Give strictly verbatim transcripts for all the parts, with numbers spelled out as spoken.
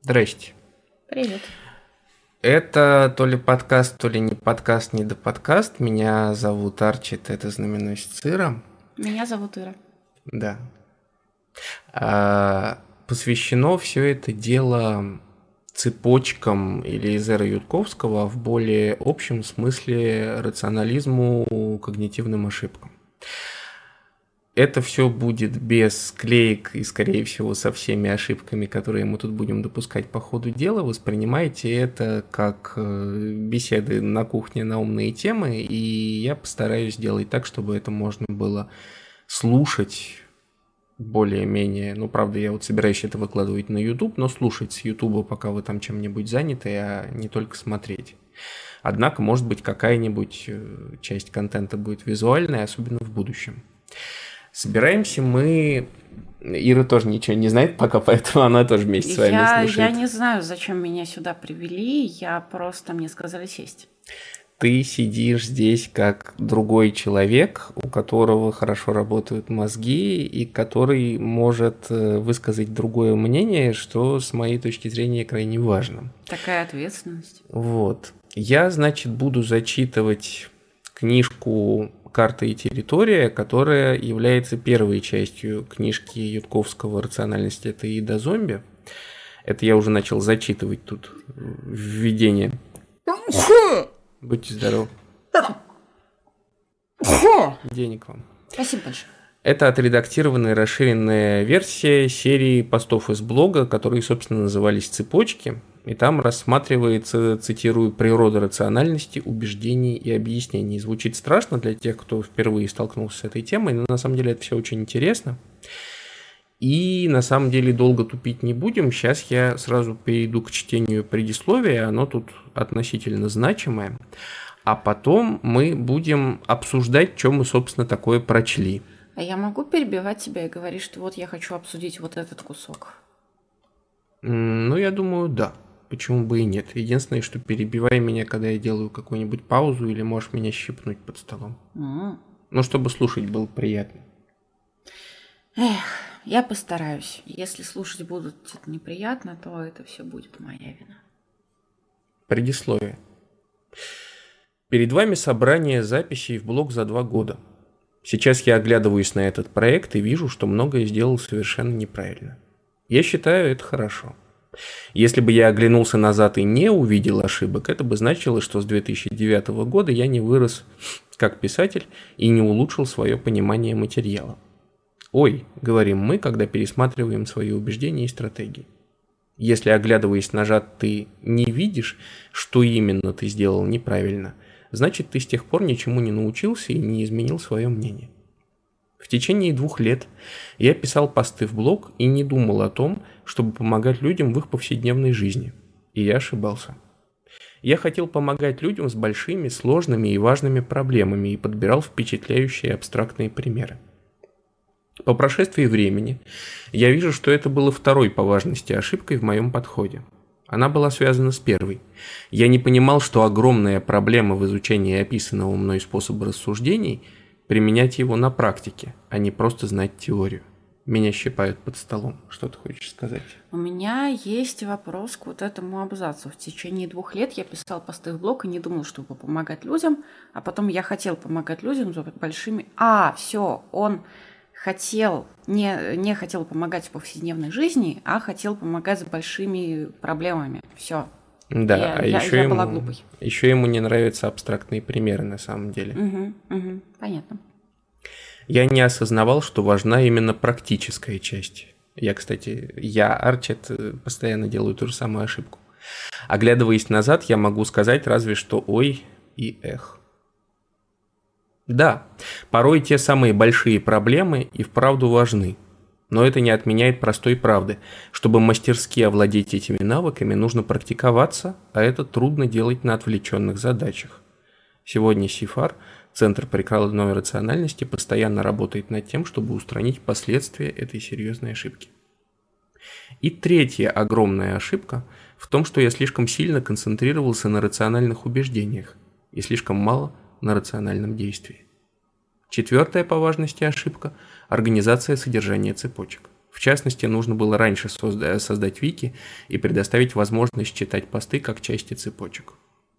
Здрасте. Привет. Это то ли подкаст, то ли не подкаст, не до подкаст. Меня зовут Арчит, это знаменосец Ира. Меня зовут Ира. Да. А, посвящено все это дело цепочкам или из эры Ютковского, а в более общем смысле рационализму, когнитивным ошибкам. Это все будет без склеек и, скорее всего, со всеми ошибками, которые мы тут будем допускать по ходу дела. Воспринимайте это как беседы на кухне на умные темы, и я постараюсь сделать так, чтобы это можно было слушать более-менее. Ну, правда, я вот собираюсь это выкладывать на YouTube, но слушать с YouTube, пока вы там чем-нибудь заняты, а не только смотреть. Однако, может быть, какая-нибудь часть контента будет визуальная, особенно в будущем. Собираемся мы... Ира тоже ничего не знает пока, поэтому она тоже вместе с вами я, слушает. Я не знаю, зачем меня сюда привели, я просто, мне сказали сесть. Ты сидишь здесь как другой человек, у которого хорошо работают мозги и который может высказать другое мнение, что с моей точки зрения крайне важно. Такая ответственность. Вот. Я, значит, буду зачитывать книжку «Карта и территория», которая является первой частью книжки Ютковского «Рациональность – это еда зомби». Это я уже начал зачитывать тут введение. Будьте здоровы. Денег вам. Спасибо большое. Это отредактированная расширенная версия серии постов из блога, которые, собственно, назывались «Цепочки». И там рассматривается, цитирую, природа рациональности, убеждений и объяснений. Звучит страшно для тех, кто впервые столкнулся с этой темой, но на самом деле это все очень интересно. И на самом деле долго тупить не будем. Сейчас я сразу перейду к чтению предисловия, оно тут относительно значимое. А потом мы будем обсуждать, что мы, собственно, такое прочли. А я могу перебивать тебя и говорить, что вот я хочу обсудить вот этот кусок? Ну, я думаю, да. Почему бы и нет? Единственное, что перебивай меня, когда я делаю какую-нибудь паузу, или можешь меня щипнуть под столом. Mm. Ну, чтобы слушать было приятно. Эх, я постараюсь. Если слушать будут это неприятно, то это все будет моя вина. Предисловие. Перед вами собрание записей в блог за два года. Сейчас я оглядываюсь на этот проект и вижу, что многое сделал совершенно неправильно. Я считаю, это хорошо. Если бы я оглянулся назад и не увидел ошибок, это бы значило, что с две тысячи девятого года я не вырос как писатель и не улучшил свое понимание материала. Ой, говорим мы, когда пересматриваем свои убеждения и стратегии. Если, оглядываясь назад, ты не видишь, что именно ты сделал неправильно, значит, ты с тех пор ничему не научился и не изменил свое мнение. В течение двух лет я писал посты в блог и не думал о том, чтобы помогать людям в их повседневной жизни. И я ошибался. Я хотел помогать людям с большими, сложными и важными проблемами и подбирал впечатляющие абстрактные примеры. По прошествии времени я вижу, что это было второй по важности ошибкой в моем подходе. Она была связана с первой. Я не понимал, что огромная проблема в изучении описанного мной способа рассуждений – применять его на практике, а не просто знать теорию. Меня щипают под столом. Что ты хочешь сказать? У меня есть вопрос к вот этому абзацу. В течение двух лет я писал посты в блог и не думал, чтобы помогать людям, а потом я хотел помогать людям с большими... А, все, он хотел, не, не хотел помогать в повседневной жизни, а хотел помогать с большими проблемами. Все. Да, я, а я, еще, я ему, была глупой. еще ему не нравятся абстрактные примеры на самом деле. Угу, угу, понятно. Я не осознавал, что важна именно практическая часть. Я, кстати, я, Арчит, постоянно делаю ту же самую ошибку. Оглядываясь назад, я могу сказать разве что ой и эх. Да, порой те самые большие проблемы и вправду важны. Но это не отменяет простой правды. Чтобы мастерски овладеть этими навыками, нужно практиковаться, а это трудно делать на отвлеченных задачах. Сегодня СИФАР, Центр прикладной рациональности, постоянно работает над тем, чтобы устранить последствия этой серьезной ошибки. И третья огромная ошибка в том, что я слишком сильно концентрировался на рациональных убеждениях и слишком мало на рациональном действии. Четвертая по важности ошибка – организация содержания цепочек. В частности, нужно было раньше созда- создать вики и предоставить возможность читать посты как части цепочек.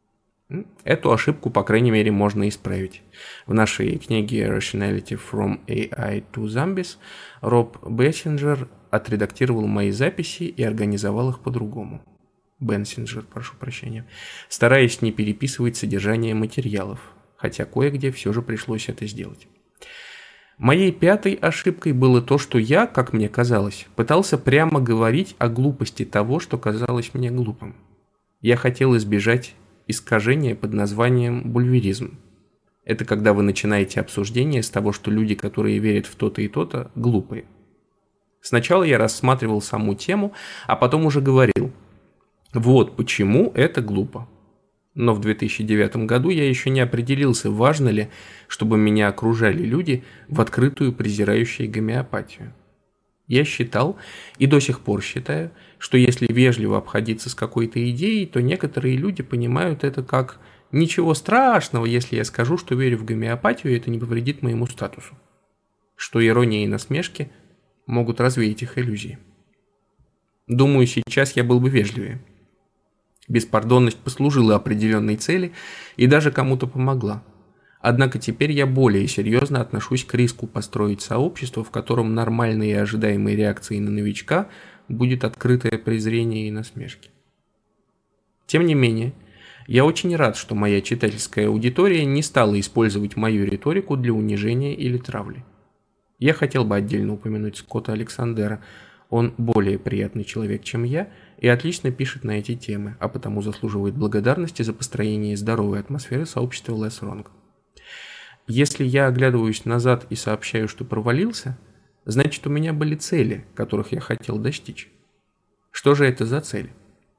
Эту ошибку, по крайней мере, можно исправить. В нашей книге Rationality from эй ай to Zombies Роб Бессинджер отредактировал мои записи и организовал их по-другому. Бенсинджер, прошу прощения, стараясь не переписывать содержание материалов, хотя кое-где все же пришлось это сделать. Моей пятой ошибкой было то, что я, как мне казалось, пытался прямо говорить о глупости того, что казалось мне глупым. Я хотел избежать искажения под названием бульверизм. Это когда вы начинаете обсуждение с того, что люди, которые верят в то-то и то-то, глупые. Сначала я рассматривал саму тему, а потом уже говорил: вот почему это глупо. Но в две тысячи девятом году я еще не определился, важно ли, чтобы меня окружали люди, в открытую презирающие гомеопатию. Я считал, и до сих пор считаю, что если вежливо обходиться с какой-то идеей, то некоторые люди понимают это как «ничего страшного, если я скажу, что верю в гомеопатию, и это не повредит моему статусу». Что ирония и насмешки могут развеять их иллюзии. Думаю, сейчас я был бы вежливее. Беспардонность послужила определенной цели и даже кому-то помогла. Однако теперь я более серьезно отношусь к риску построить сообщество, в котором нормальной и ожидаемой реакцией на новичка будет открытое презрение и насмешки. Тем не менее, я очень рад, что моя читательская аудитория не стала использовать мою риторику для унижения или травли. Я хотел бы отдельно упомянуть Скотта Александера. Он более приятный человек, чем я, и отлично пишет на эти темы, а потому заслуживает благодарности за построение здоровой атмосферы сообщества Less Wrong. Если я оглядываюсь назад и сообщаю, что провалился, значит, у меня были цели, которых я хотел достичь. Что же это за цели?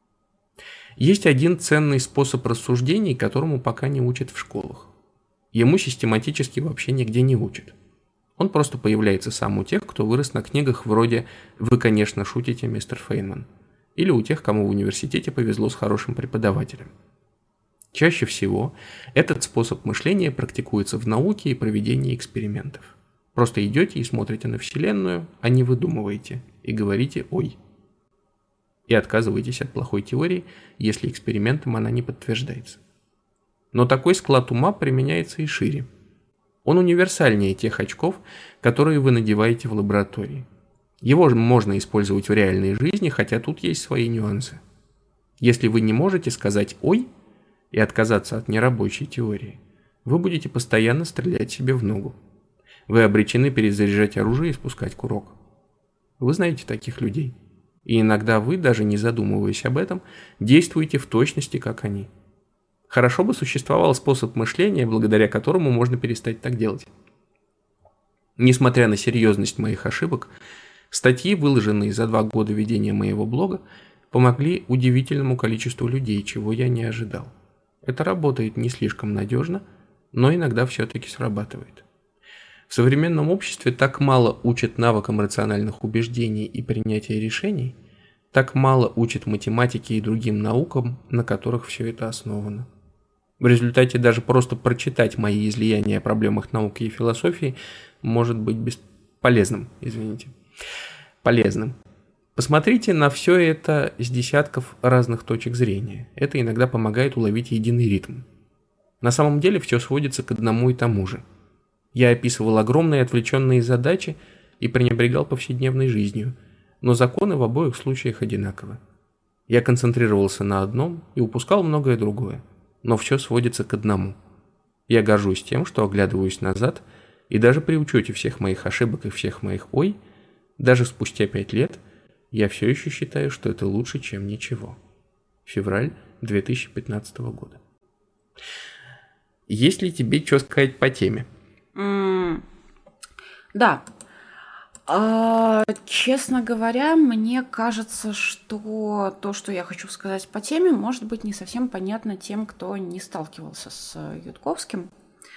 Есть один ценный способ рассуждений, которому пока не учат в школах. Ему систематически вообще нигде не учат. Он просто появляется сам у тех, кто вырос на книгах вроде «Вы, конечно, шутите, мистер Фейнман», или у тех, кому в университете повезло с хорошим преподавателем. Чаще всего этот способ мышления практикуется в науке и проведении экспериментов. Просто идете и смотрите на Вселенную, а не выдумываете, и говорите «ой». И отказываетесь от плохой теории, если экспериментом она не подтверждается. Но такой склад ума применяется и шире. Он универсальнее тех очков, которые вы надеваете в лаборатории. Его можно использовать в реальной жизни, хотя тут есть свои нюансы. Если вы не можете сказать «ой» и отказаться от нерабочей теории, вы будете постоянно стрелять себе в ногу. Вы обречены перезаряжать оружие и спускать курок. Вы знаете таких людей. И иногда вы, даже не задумываясь об этом, действуете в точности, как они. Хорошо бы существовал способ мышления, благодаря которому можно перестать так делать. Несмотря на серьезность моих ошибок, статьи, выложенные за два года ведения моего блога, помогли удивительному количеству людей, чего я не ожидал. Это работает не слишком надежно, но иногда все-таки срабатывает. В современном обществе так мало учат навыкам рациональных убеждений и принятия решений, так мало учат математике и другим наукам, на которых все это основано. В результате даже просто прочитать мои излияния о проблемах науки и философии может быть бесполезным, извините, полезным. Посмотрите на все это с десятков разных точек зрения. Это иногда помогает уловить единый ритм. На самом деле все сводится к одному и тому же. Я описывал огромные отвлеченные задачи и пренебрегал повседневной жизнью, но законы в обоих случаях одинаковы. Я концентрировался на одном и упускал многое другое, но все сводится к одному. Я горжусь тем, что оглядываюсь назад, и даже при учете всех моих ошибок и всех моих «ой», даже спустя пять лет, я все еще считаю, что это лучше, чем ничего. Февраль две тысячи пятнадцатого года. Есть ли тебе что сказать по теме? Mm, да. А, честно говоря, мне кажется, что то, что я хочу сказать по теме, может быть не совсем понятно тем, кто не сталкивался с Ютковским.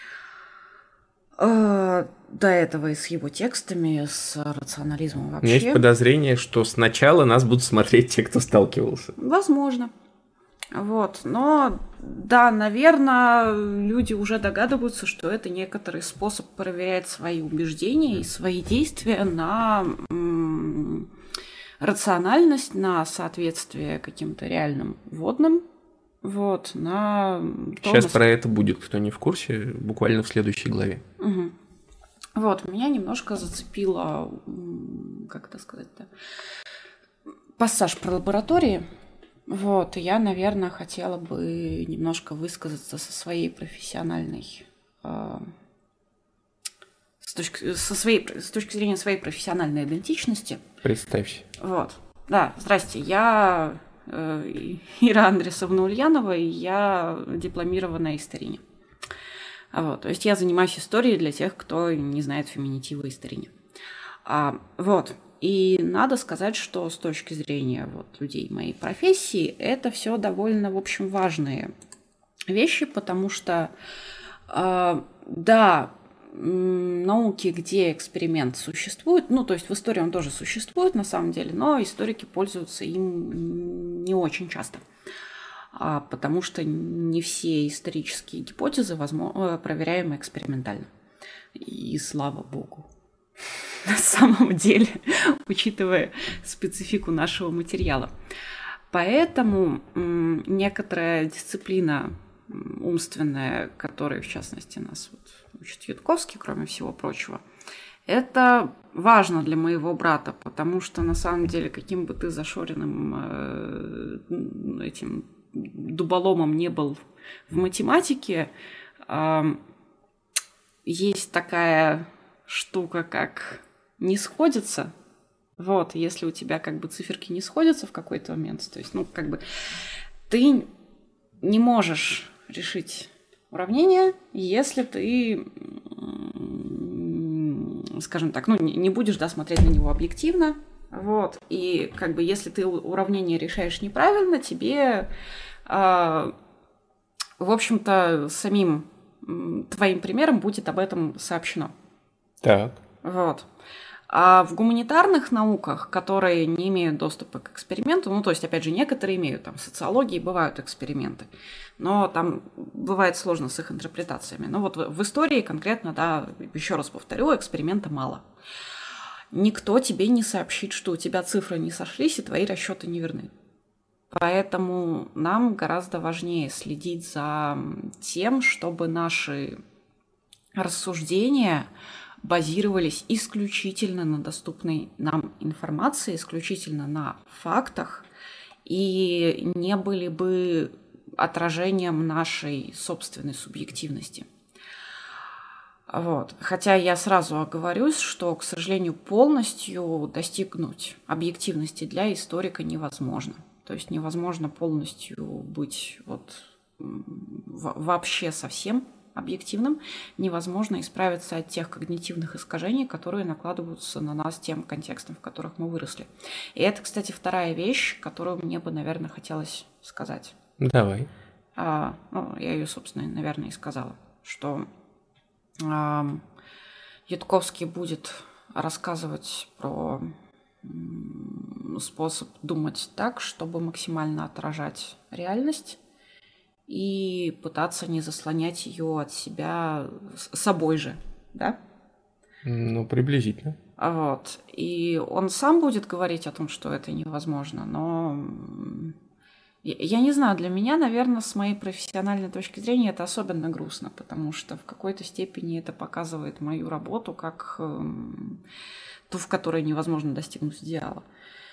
А, до этого и с его текстами, с рационализмом вообще. У меня есть подозрение, что сначала нас будут смотреть те, кто сталкивался. Возможно. Вот, но да, наверное, люди уже догадываются, что это некоторый способ проверять свои убеждения и свои действия на м, рациональность, на соответствие каким-то реальным вводным, вот, на то, Сейчас нас- про это будет, кто не в курсе, буквально в следующей главе. Мгм. Вот, меня немножко зацепило, м, как это сказать-то, пассаж про лаборатории. Вот, и я, наверное, хотела бы немножко высказаться со своей профессиональной, э, с точки, со своей, с точки зрения своей профессиональной идентичности. Представься. Вот, да, здрасте, я э, Ира Андресовна Ульянова, и я дипломированная историня. Вот, то есть я занимаюсь историей для тех, кто не знает феминитива историня. А, вот. И надо сказать, что с точки зрения вот, людей моей профессии, это все довольно, в общем, важные вещи, потому что, э, да, м, науки, где эксперимент существует, ну, то есть в истории он тоже существует на самом деле, но историки пользуются им не очень часто, а, потому что не все исторические гипотезы возможно, проверяемы экспериментально. И слава богу. На самом деле, учитывая специфику нашего материала. Поэтому м, некоторая дисциплина м, умственная, которой, в частности, нас вот учит Ютковский, кроме всего прочего, это важно для моего брата, потому что, на самом деле, каким бы ты зашоренным э, этим дуболомом не был в математике, э, есть такая штука, как не сходится. Вот, если у тебя как бы циферки не сходятся в какой-то момент, то есть, ну, как бы ты не можешь решить уравнение, если ты, скажем так, ну, не будешь, да, смотреть на него объективно, вот, и как бы если ты уравнение решаешь неправильно, тебе, э, в общем-то, самим твоим примером будет об этом сообщено. Так. Вот. А в гуманитарных науках, которые не имеют доступа к эксперименту, ну, то есть, опять же, некоторые имеют, там, в социологии бывают эксперименты, но там бывает сложно с их интерпретациями. Но вот в, в истории конкретно, да, еще раз повторю, эксперимента мало. Никто тебе не сообщит, что у тебя цифры не сошлись и твои расчеты не верны. Поэтому нам гораздо важнее следить за тем, чтобы наши рассуждения базировались исключительно на доступной нам информации, исключительно на фактах, и не были бы отражением нашей собственной субъективности. Вот. Хотя я сразу оговорюсь, что, к сожалению, полностью достигнуть объективности для историка невозможно. То есть невозможно полностью быть вот вообще совсем объективным, невозможно исправиться от тех когнитивных искажений, которые накладываются на нас тем контекстом, в которых мы выросли. И это, кстати, вторая вещь, которую мне бы, наверное, хотелось сказать. Давай. А, ну, я ее, собственно, наверное, и сказала, что а, Ютковский будет рассказывать про м, способ думать так, чтобы максимально отражать реальность, и пытаться не заслонять ее от себя с собой же, да? Ну, приблизительно. Вот. И он сам будет говорить о том, что это невозможно, но я не знаю, для меня, наверное, с моей профессиональной точки зрения это особенно грустно, потому что в какой-то степени это показывает мою работу как эм, ту, в которой невозможно достигнуть идеала.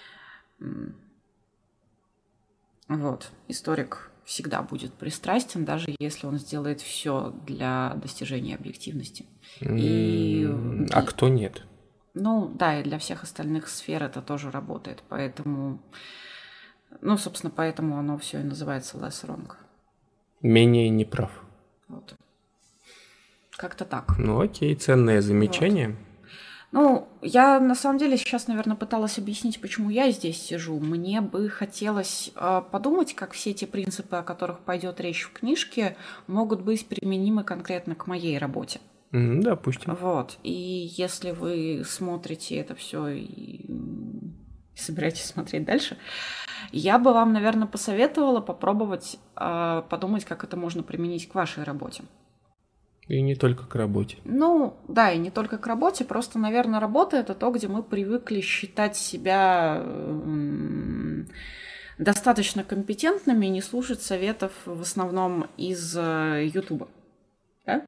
Вот. Историк всегда будет пристрастен, даже если он сделает все для достижения объективности. И... А кто нет? Ну, да, и для всех остальных сфер это тоже работает, поэтому... Ну, собственно, поэтому оно все и называется less wrong. Менее неправ. Вот. Как-то так. Ну, окей, ценное замечание. Вот. Ну, я на самом деле сейчас, наверное, пыталась объяснить, почему я здесь сижу. Мне бы хотелось э, подумать, как все те принципы, о которых пойдет речь в книжке, могут быть применимы конкретно к моей работе. Mm, допустим. Вот. И если вы смотрите это все и собираетесь смотреть дальше, я бы вам, наверное, посоветовала попробовать э, подумать, как это можно применить к вашей работе. И не только к работе. Ну, да, и не только к работе, просто, наверное, работа — это то, где мы привыкли считать себя э, достаточно компетентными и не слушать советов в основном из э, Ютуба. Да?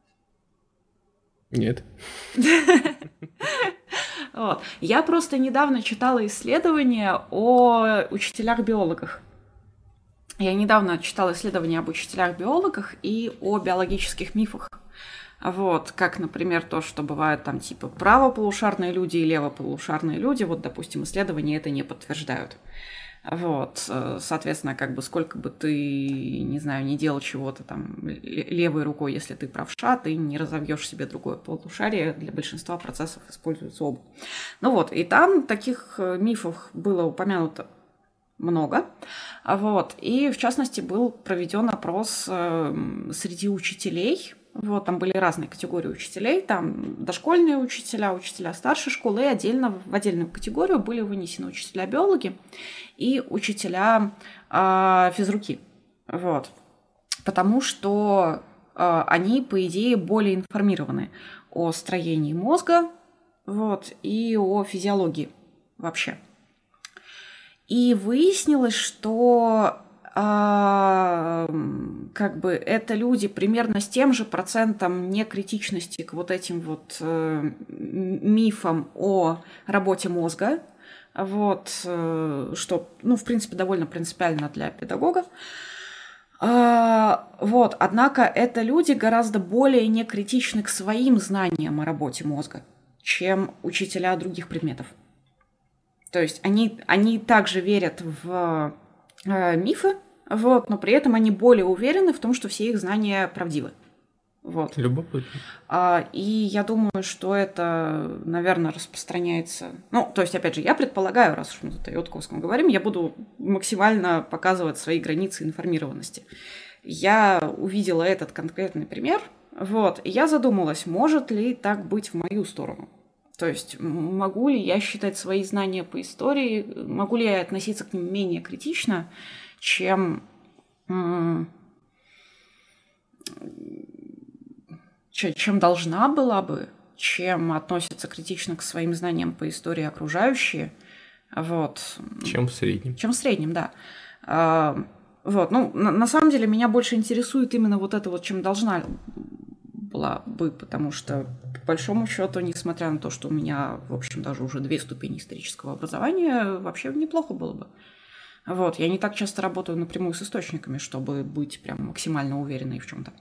Нет. Вот. Я просто недавно читала исследования о учителях-биологах. Я недавно читала исследования об учителях-биологах и о биологических мифах. Вот, как, например, то, что бывают там типа правополушарные люди и левополушарные люди. Вот, допустим, исследования это не подтверждают. Вот, соответственно, как бы сколько бы ты, не знаю, не делал чего-то там левой рукой, если ты правша, ты не разовьешь себе другое полушарие, для большинства процессов используются оба. Ну вот, и там таких мифов было упомянуто много, вот, и в частности был проведен опрос среди учителей. Вот, там были разные категории учителей, там дошкольные учителя, учителя старшей школы, и отдельно в отдельную категорию были вынесены учителя-биологи и учителя э, физруки. Вот. Потому что э, они, по идее, более информированы о строении мозга, вот, и о физиологии вообще. И выяснилось, что А, как бы это люди примерно с тем же процентом некритичности к вот этим вот э, мифам о работе мозга, вот, э, что, ну, в принципе, довольно принципиально для педагога. А, вот, однако это люди гораздо более некритичны к своим знаниям о работе мозга, чем учителя других предметов. То есть они, они также верят в мифы, вот, но при этом они более уверены в том, что все их знания правдивы. Вот. Любопытно. А, и я думаю, что это, наверное, распространяется... Ну, то есть, опять же, я предполагаю, раз уж мы тут о Ютковском говорим, я буду максимально показывать свои границы информированности. Я увидела этот конкретный пример, вот, и я задумалась, может ли так быть в мою сторону. То есть, могу ли я считать свои знания по истории, могу ли я относиться к ним менее критично, чем, чем должна была бы, чем относятся критично к своим знаниям по истории окружающие. Вот. Чем в среднем. Чем в среднем, да. Вот. Ну, на, на самом деле, меня больше интересует именно вот это вот, чем должна была бы, потому что, по большому счету, несмотря на то, что у меня, в общем, даже уже две ступени исторического образования, вообще неплохо было бы. Вот, я не так часто работаю напрямую с источниками, чтобы быть прям максимально уверенной в чем-то.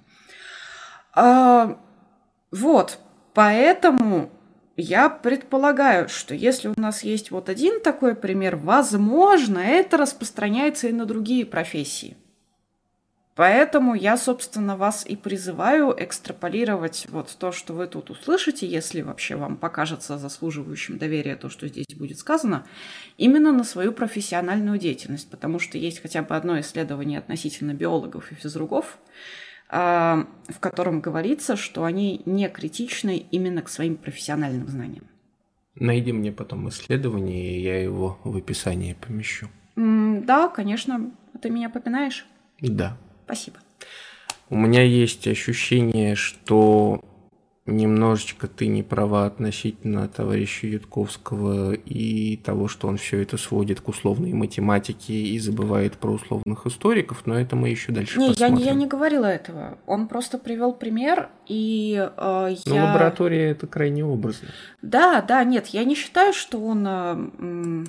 А, вот, поэтому я предполагаю, что если у нас есть вот один такой пример, возможно, это распространяется и на другие профессии. Поэтому я, собственно, вас и призываю экстраполировать вот то, что вы тут услышите, если вообще вам покажется заслуживающим доверия то, что здесь будет сказано, именно на свою профессиональную деятельность, потому что есть хотя бы одно исследование относительно биологов и физругов, в котором говорится, что они не критичны именно к своим профессиональным знаниям. Найди мне потом исследование, и я его в описании помещу. Да, конечно. Ты меня попинаешь? Да. Спасибо. У меня есть ощущение, что немножечко ты не права относительно товарища Ютковского и того, что он все это сводит к условной математике и забывает про условных историков, но это мы еще дальше не, посмотрим. Я, я не говорила этого. Он просто привел пример, и э, Но я... лаборатория это крайне образно. Да, да, нет, я не считаю, что он... Э,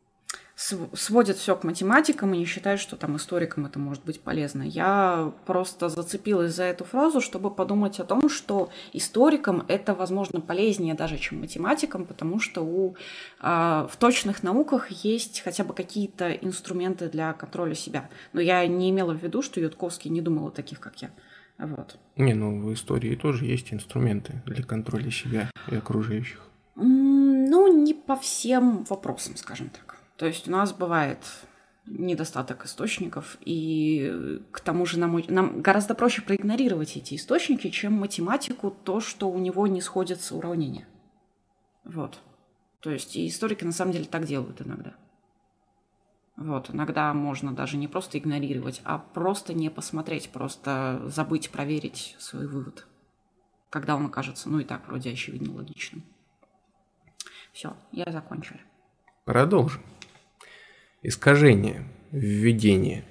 сводит все к математикам и не считает, что там историкам это может быть полезно. Я просто зацепилась за эту фразу, чтобы подумать о том, что историкам это, возможно, полезнее даже, чем математикам, потому что у, а, в точных науках есть хотя бы какие-то инструменты для контроля себя. Но я не имела в виду, что Ютковский не думал о таких, как я. Вот. Не, ну в истории тоже есть инструменты для контроля себя и окружающих. Ну, не по всем вопросам, скажем так. То есть у нас бывает недостаток источников, и к тому же нам, нам гораздо проще проигнорировать эти источники, чем математику, то, что у него не сходятся уравнения. Вот. То есть и историки на самом деле так делают иногда. Вот, иногда можно даже не просто игнорировать, а просто не посмотреть, просто забыть проверить свой вывод, когда он окажется, ну и так вроде очевидно логичным. Все, я закончила. Продолжим. Искажение, введение.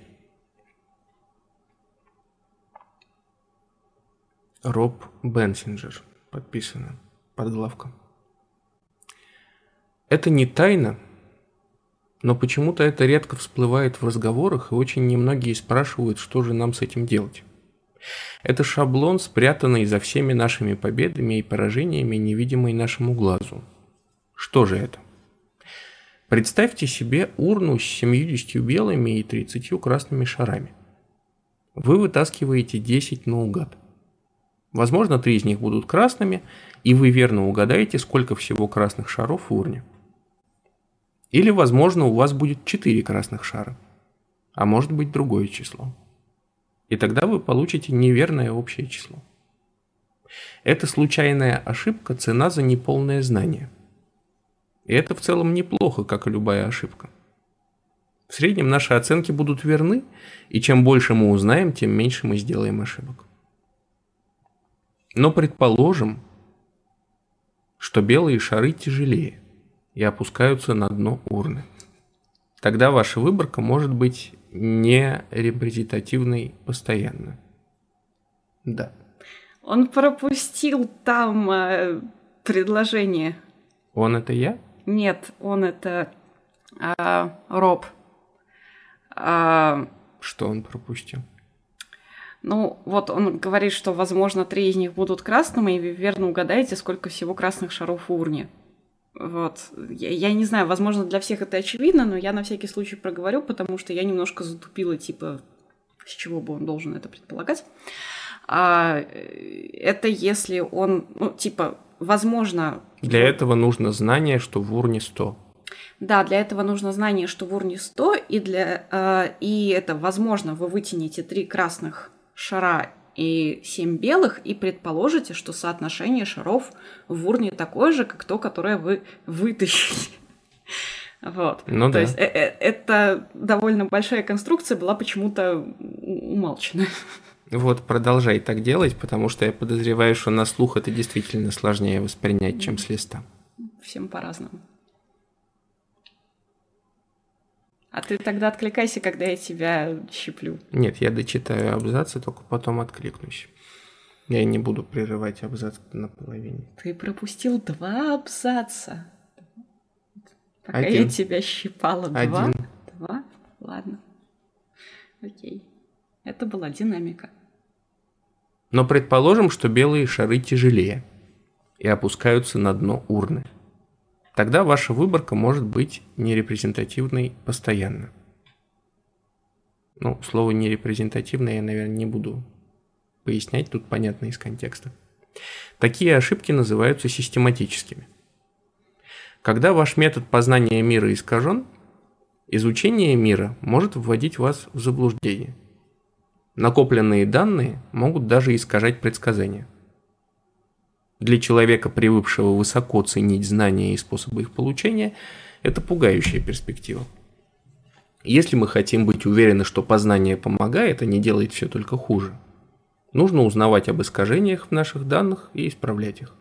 Роб Бенсинджер. Подписано. Подглавка. Это не тайна, но почему-то это редко всплывает в разговорах, и очень немногие спрашивают, что же нам с этим делать. Это шаблон, спрятанный за всеми нашими победами и поражениями, невидимый нашему глазу. Что же это? Представьте себе урну с семьюдесятью белыми и тридцатью красными шарами. Вы вытаскиваете десять наугад. Возможно, три из них будут красными, и вы верно угадаете, сколько всего красных шаров в урне. Или, возможно, у вас будет четыре красных шара, а может быть другое число. И тогда вы получите неверное общее число. Это случайная ошибка, цена за неполное знание. И это в целом неплохо, как и любая ошибка. В среднем наши оценки будут верны, и чем больше мы узнаем, тем меньше мы сделаем ошибок. Но предположим, что белые шары тяжелее и опускаются на дно урны. Тогда ваша выборка может быть не репрезентативной постоянно. Да. Он пропустил там э, предложение. Он это я? Нет, он это э, Роб. Э, Что он пропустил? Ну, вот он говорит, что, возможно, три из них будут красными, и вы верно угадаете, сколько всего красных шаров в урне. Вот. Я, я не знаю, возможно, для всех это очевидно, но я на всякий случай проговорю, потому что я немножко затупила, типа, с чего бы он должен это предполагать. А, это если он, ну, типа, возможно... Для этого нужно знание, что в урне сто. Да, для этого нужно знание, что в урне сто, и, для, э, и это, возможно, вы вытянете три красных шара и семь белых, и предположите, что соотношение шаров в урне такое же, как то, которое вы вытащили. Вот. Ну, то да. есть э -э это довольно большая конструкция была почему-то умалчена. Вот, продолжай так делать, потому что я подозреваю, что на слух это действительно сложнее воспринять, чем с листа. Всем по-разному. А ты тогда откликайся, когда я тебя щиплю. Нет, я дочитаю абзац и только потом откликнусь. Я не буду прерывать абзац наполовине. Ты пропустил два абзаца. Пока Один. я тебя щипала. Два? Один. Два? Ладно. Окей. Это была динамика. Но предположим, что белые шары тяжелее и опускаются на дно урны. Тогда ваша выборка может быть нерепрезентативной постоянно. Ну, слово нерепрезентативное я, наверное, не буду пояснять, тут понятно из контекста. Такие ошибки называются систематическими. Когда ваш метод познания мира искажен, изучение мира может вводить вас в заблуждение. Накопленные данные могут даже искажать предсказания. Для человека, привыкшего высоко ценить знания и способы их получения, это пугающая перспектива. Если мы хотим быть уверены, что познание помогает, а не делает все только хуже, нужно узнавать об искажениях в наших данных и исправлять их.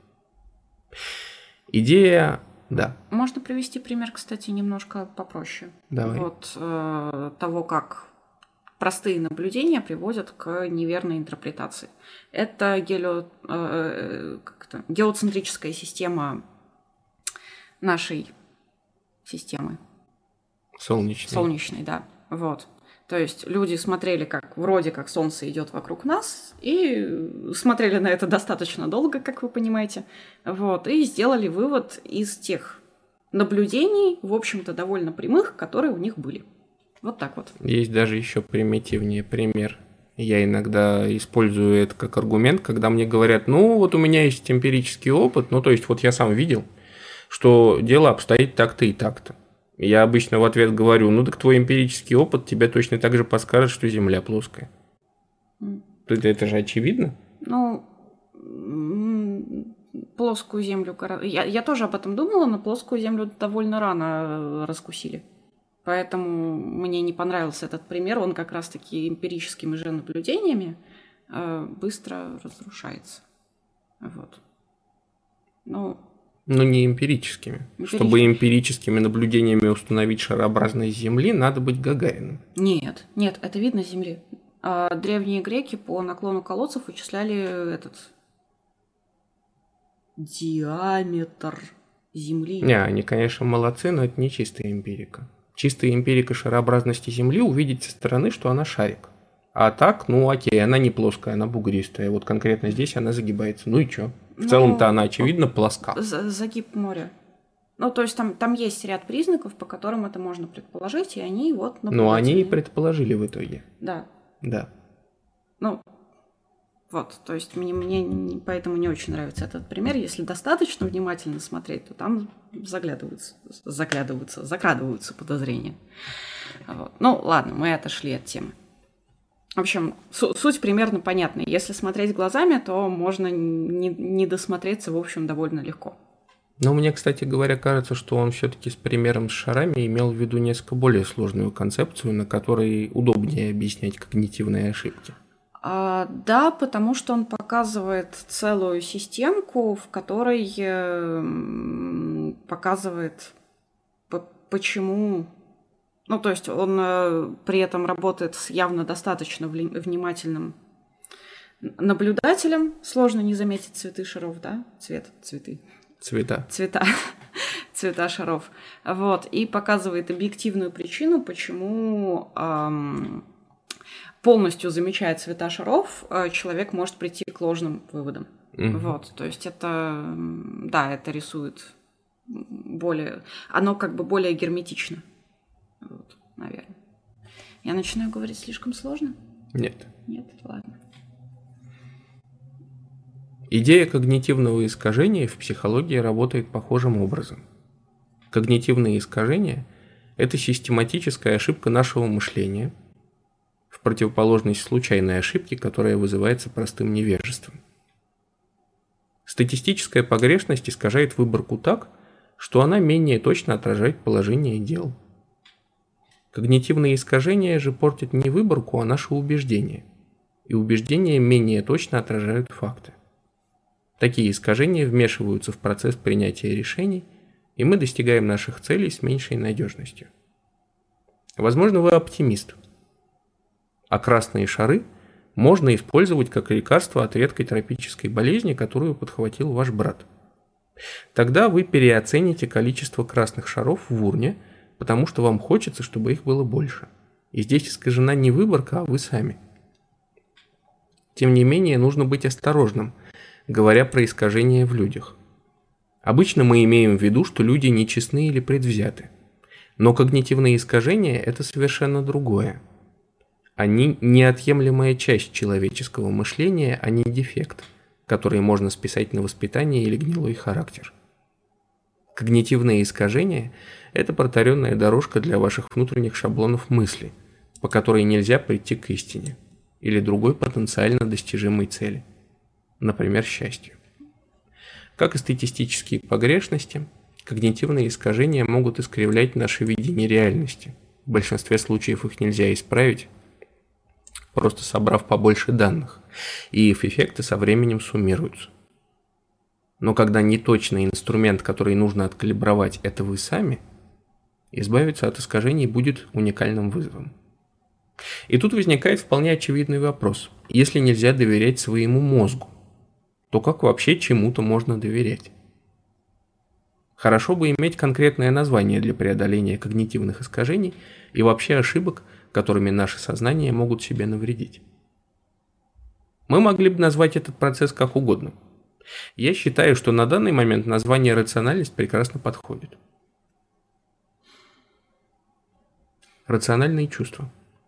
Идея, да. Можно привести пример, кстати, немножко попроще. Давай. Вот э, того, как простые наблюдения приводят к неверной интерпретации. Это гелио, э, как это, геоцентрическая система нашей системы. Солнечной. Солнечной, да. Вот. То есть люди смотрели, как вроде как Солнце идет вокруг нас, и смотрели на это достаточно долго, как вы понимаете, вот, и сделали вывод из тех наблюдений, в общем-то, довольно прямых, которые у них были. Вот так вот. Есть даже еще примитивнее пример. Я иногда использую это как аргумент, когда мне говорят, ну вот у меня есть эмпирический опыт, ну то есть вот я сам видел, что дело обстоит так-то и так-то. Я обычно в ответ говорю, ну так твой эмпирический опыт тебе точно так же подскажет, что Земля плоская. Mm. Это, это же очевидно. Ну, плоскую землю... Я, я тоже об этом думала, но плоскую землю довольно рано раскусили. Поэтому мне не понравился этот пример. Он как раз-таки эмпирическими же наблюдениями э, быстро разрушается. Вот. Ну, Но не эмпирическими. Эмпирически. Чтобы эмпирическими наблюдениями установить шарообразность Земли, надо быть Гагариным. Нет, нет, это видно с Земли. А древние греки по наклону колодцев вычисляли этот диаметр Земли. Не, они, конечно, молодцы, но это не чистая эмпирика. Чистая эмпирика шарообразности Земли увидеть со стороны, что она шарик. А так, ну окей, она не плоская, она бугристая. Вот конкретно здесь она загибается. Ну и чё? В ну, целом-то она, очевидно, плоска. Загиб моря. Ну, то есть там, там есть ряд признаков, по которым это можно предположить, и они вот... Ну, они и предположили в итоге. Да. Да. Ну, вот, то есть мне, мне поэтому не очень нравится этот пример. Если достаточно внимательно смотреть, то там заглядываются, заглядываются, закрадываются подозрения. Вот. Ну, ладно, мы отошли от темы. В общем, су- суть примерно понятна. Если смотреть глазами, то можно не, не досмотреться, в общем, довольно легко. Но мне, кстати говоря, кажется, что он все-таки с примером с шарами имел в виду несколько более сложную концепцию, на которой удобнее объяснять когнитивные ошибки. А, да, потому что он показывает целую системку, в которой э, показывает, по- почему... Ну, то есть он э, при этом работает с явно достаточно вли- внимательным наблюдателем. Сложно не заметить цветы шаров, да? Цвет, цветы. Цвета. Цвета. Цвета шаров. Вот. И показывает объективную причину, почему эм, полностью замечая цвета шаров, э, человек может прийти к ложным выводам. Mm-hmm. Вот. То есть это, да, это рисует более... Оно как бы более герметично. Вот, наверное. Я начинаю говорить слишком сложно? Нет. Нет? Ладно. Идея когнитивного искажения в психологии работает похожим образом. Когнитивные искажения – это систематическая ошибка нашего мышления, в противоположность случайной ошибке, которая вызывается простым невежеством. Статистическая погрешность искажает выборку так, что она менее точно отражает положение дел. Когнитивные искажения же портят не выборку, а наши убеждения, и убеждения менее точно отражают факты. Такие искажения вмешиваются в процесс принятия решений, и мы достигаем наших целей с меньшей надежностью. Возможно, вы оптимист, а красные шары можно использовать как лекарство от редкой тропической болезни, которую подхватил ваш брат. Тогда вы переоцените количество красных шаров в урне, потому что вам хочется, чтобы их было больше. И здесь искажена не выборка, а вы сами. Тем не менее, нужно быть осторожным, говоря про искажения в людях. Обычно мы имеем в виду, что люди нечестны или предвзяты. Но когнитивные искажения – это совершенно другое. Они неотъемлемая часть человеческого мышления, а не дефект, который можно списать на воспитание или гнилой характер. Когнитивные искажения – это протаренная дорожка для ваших внутренних шаблонов мысли, по которой нельзя прийти к истине или другой потенциально достижимой цели, например, счастью. Как и статистические погрешности, когнитивные искажения могут искривлять наше видение реальности. В большинстве случаев их нельзя исправить, просто собрав побольше данных, и их эффекты со временем суммируются. Но когда неточный инструмент, который нужно откалибровать, это вы сами, избавиться от искажений будет уникальным вызовом. И тут возникает вполне очевидный вопрос. Если нельзя доверять своему мозгу, то как вообще чему-то можно доверять? Хорошо бы иметь конкретное название для преодоления когнитивных искажений и вообще ошибок, которыми наше сознание могут себе навредить. Мы могли бы назвать этот процесс как угодно. Я считаю, что на данный момент название рациональность прекрасно подходит. Рациональные чувства.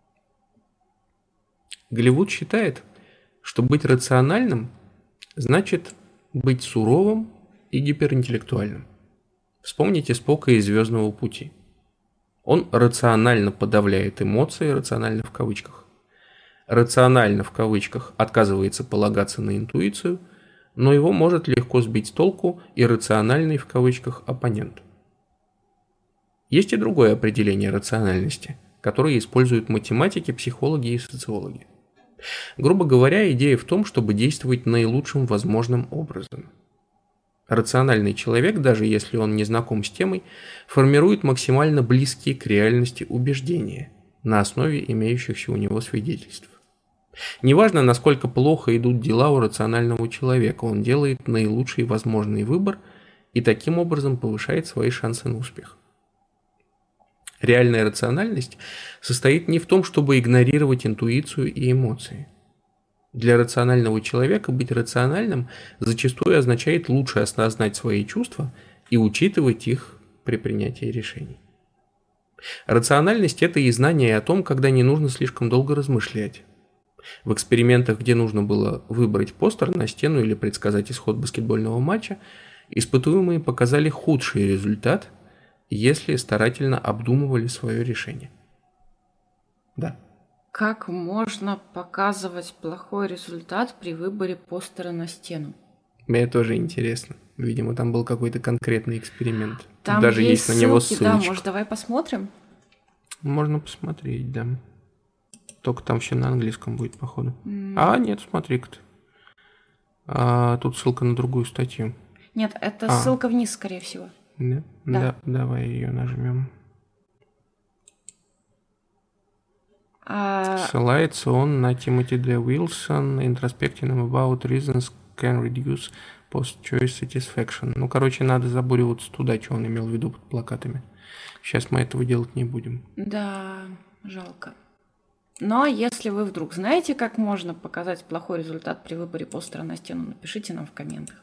Голливуд считает, что быть рациональным значит быть суровым и гиперинтеллектуальным. Вспомните Спока из «Звездного пути». Он рационально подавляет эмоции, рационально в кавычках. Рационально в кавычках отказывается полагаться на интуицию, но его может легко сбить с толку иррациональный в кавычках оппонент. Есть и другое определение рациональности, которое используют математики, психологи и социологи. Грубо говоря, идея в том, чтобы действовать наилучшим возможным образом. Рациональный человек, даже если он не знаком с темой, формирует максимально близкие к реальности убеждения на основе имеющихся у него свидетельств. Неважно, насколько плохо идут дела у рационального человека, он делает наилучший возможный выбор и таким образом повышает свои шансы на успех. Реальная рациональность состоит не в том, чтобы игнорировать интуицию и эмоции. Для рационального человека быть рациональным зачастую означает лучше осознать свои чувства и учитывать их при принятии решений. Рациональность – это и знание о том, когда не нужно слишком долго размышлять. В экспериментах, где нужно было выбрать постер на стену или предсказать исход баскетбольного матча, испытуемые показали худший результат, если старательно обдумывали свое решение. Да. Как можно показывать плохой результат при выборе постера на стену? Мне тоже интересно. Видимо, там был какой-то конкретный эксперимент. Там Даже есть, есть на него ссылки, да, ссылочка. может, давай посмотрим? Можно посмотреть, да. Только там все на английском будет, походу. Mm. А, нет, смотри-ка ты. А, тут ссылка на другую статью. Нет, это а. ссылка вниз, скорее всего. Да? Да. Да, давай ее нажмем. А... Ссылается он на Тимоти Д. Уилсон, Introspecting about reasons can reduce post-choice satisfaction. Ну, короче, надо забуриваться туда, что он имел в виду под плакатами. Сейчас мы этого делать не будем. Да, жалко. Но если вы вдруг знаете, как можно показать плохой результат при выборе постера на стену, напишите нам в комментах.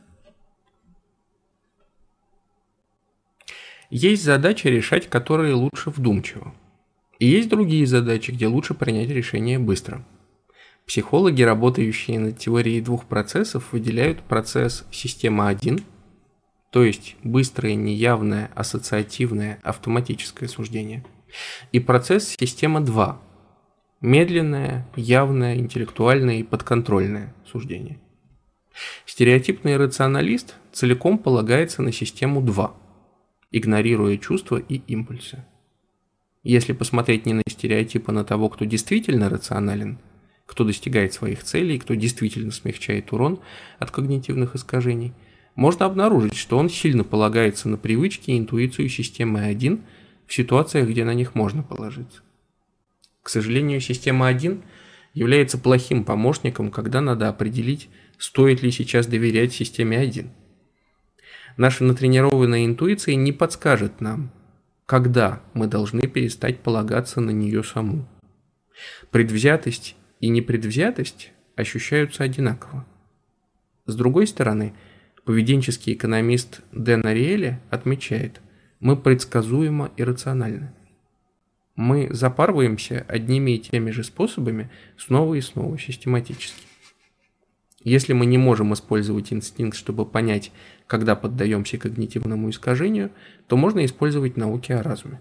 Есть задачи, решать которые лучше вдумчиво. И есть другие задачи, где лучше принять решение быстро. Психологи, работающие над теорией двух процессов, выделяют процесс система один, то есть быстрое, неявное, ассоциативное, автоматическое суждение, и процесс система два, медленное, явное, интеллектуальное и подконтрольное суждение. Стереотипный рационалист целиком полагается на систему два, игнорируя чувства и импульсы. Если посмотреть не на стереотипы, а на того, кто действительно рационален, кто достигает своих целей, кто действительно смягчает урон от когнитивных искажений, можно обнаружить, что он сильно полагается на привычки и интуицию системы один в ситуациях, где на них можно положиться. К сожалению, система один является плохим помощником, когда надо определить, стоит ли сейчас доверять системе один. Наша натренированная интуиция не подскажет нам, когда мы должны перестать полагаться на нее саму. Предвзятость и непредвзятость ощущаются одинаково. С другой стороны, поведенческий экономист Дэн Ариэли отмечает, мы предсказуемо иррациональны. Мы запарываемся одними и теми же способами снова и снова, систематически. Если мы не можем использовать инстинкт, чтобы понять, когда поддаемся когнитивному искажению, то можно использовать науки о разуме.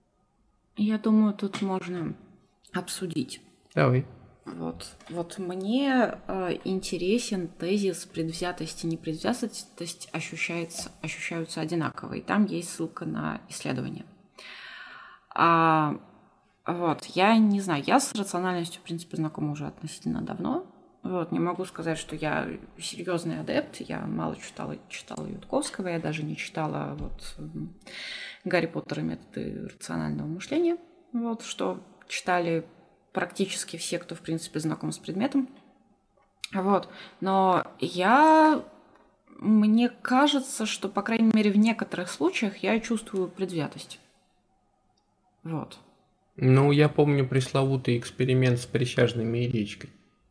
Я думаю, тут можно обсудить. Давай. Вот, вот мне э, интересен тезис предвзятость и непредвзятость ощущается, ощущаются одинаково. И там есть ссылка на исследование. А, вот, я не знаю, я с рациональностью, в принципе, знакома уже относительно давно. Вот, не могу сказать, что я серьезный адепт. Я мало читала, читала Ютковского, я даже не читала вот, Гарри Поттера и методы рационального мышления. Вот, что читали практически все, кто, в принципе, знаком с предметом. Вот. Но я... Мне кажется, что, по крайней мере, в некоторых случаях я чувствую предвзятость. Вот. Ну, я помню пресловутый эксперимент с присяжными и речкой.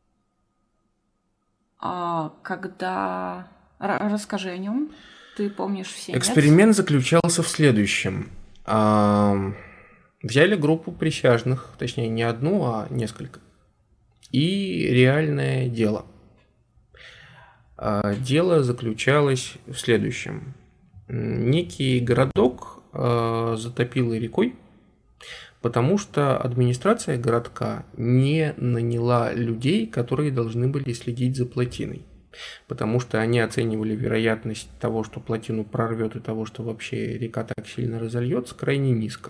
А когда... Р- расскажи о нем. Ты помнишь все? Эксперимент нет? заключался в следующем. А... Взяли группу присяжных, точнее не одну, а несколько, и реальное дело. Дело заключалось в следующем. Некий городок затопило рекой, потому что администрация городка не наняла людей, которые должны были следить за плотиной. потому что они оценивали вероятность того, что плотину прорвет, и того, что вообще река так сильно разольется, крайне низко.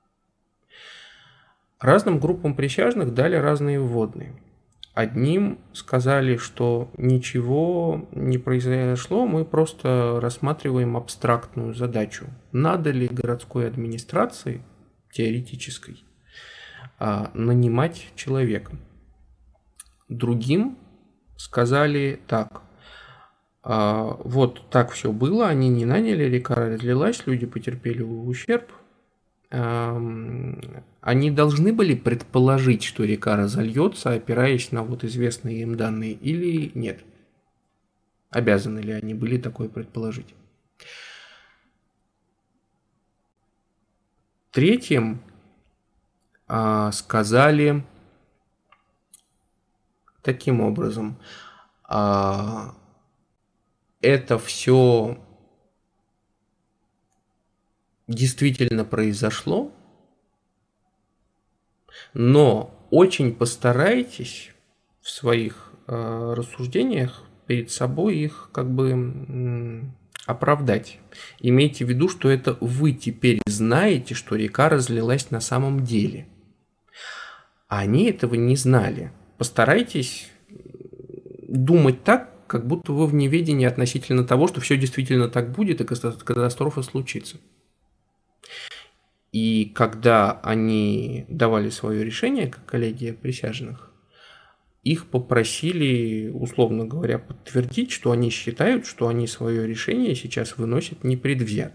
Разным группам присяжных дали разные вводные. Одним сказали, что ничего не произошло, мы просто рассматриваем абстрактную задачу. Надо ли городской администрации, теоретической, нанимать человека? Другим сказали так: вот так все было, они не наняли, река разлилась, люди потерпели ущерб. Они должны были предположить, что река разольется, опираясь на вот известные им данные, или нет? Обязаны ли они были такое предположить? Третьим а, сказали таким образом: а, это все действительно произошло, но очень постарайтесь в своих э, рассуждениях перед собой их как бы м, оправдать. Имейте в виду, что это вы теперь знаете, что река разлилась на самом деле. А они этого не знали. Постарайтесь думать так, как будто вы в неведении относительно того, что все действительно так будет, и катастрофа случится. И когда они давали свое решение, как коллегия присяжных, их попросили, условно говоря, подтвердить, что они считают, что они свое решение сейчас выносят непредвзято.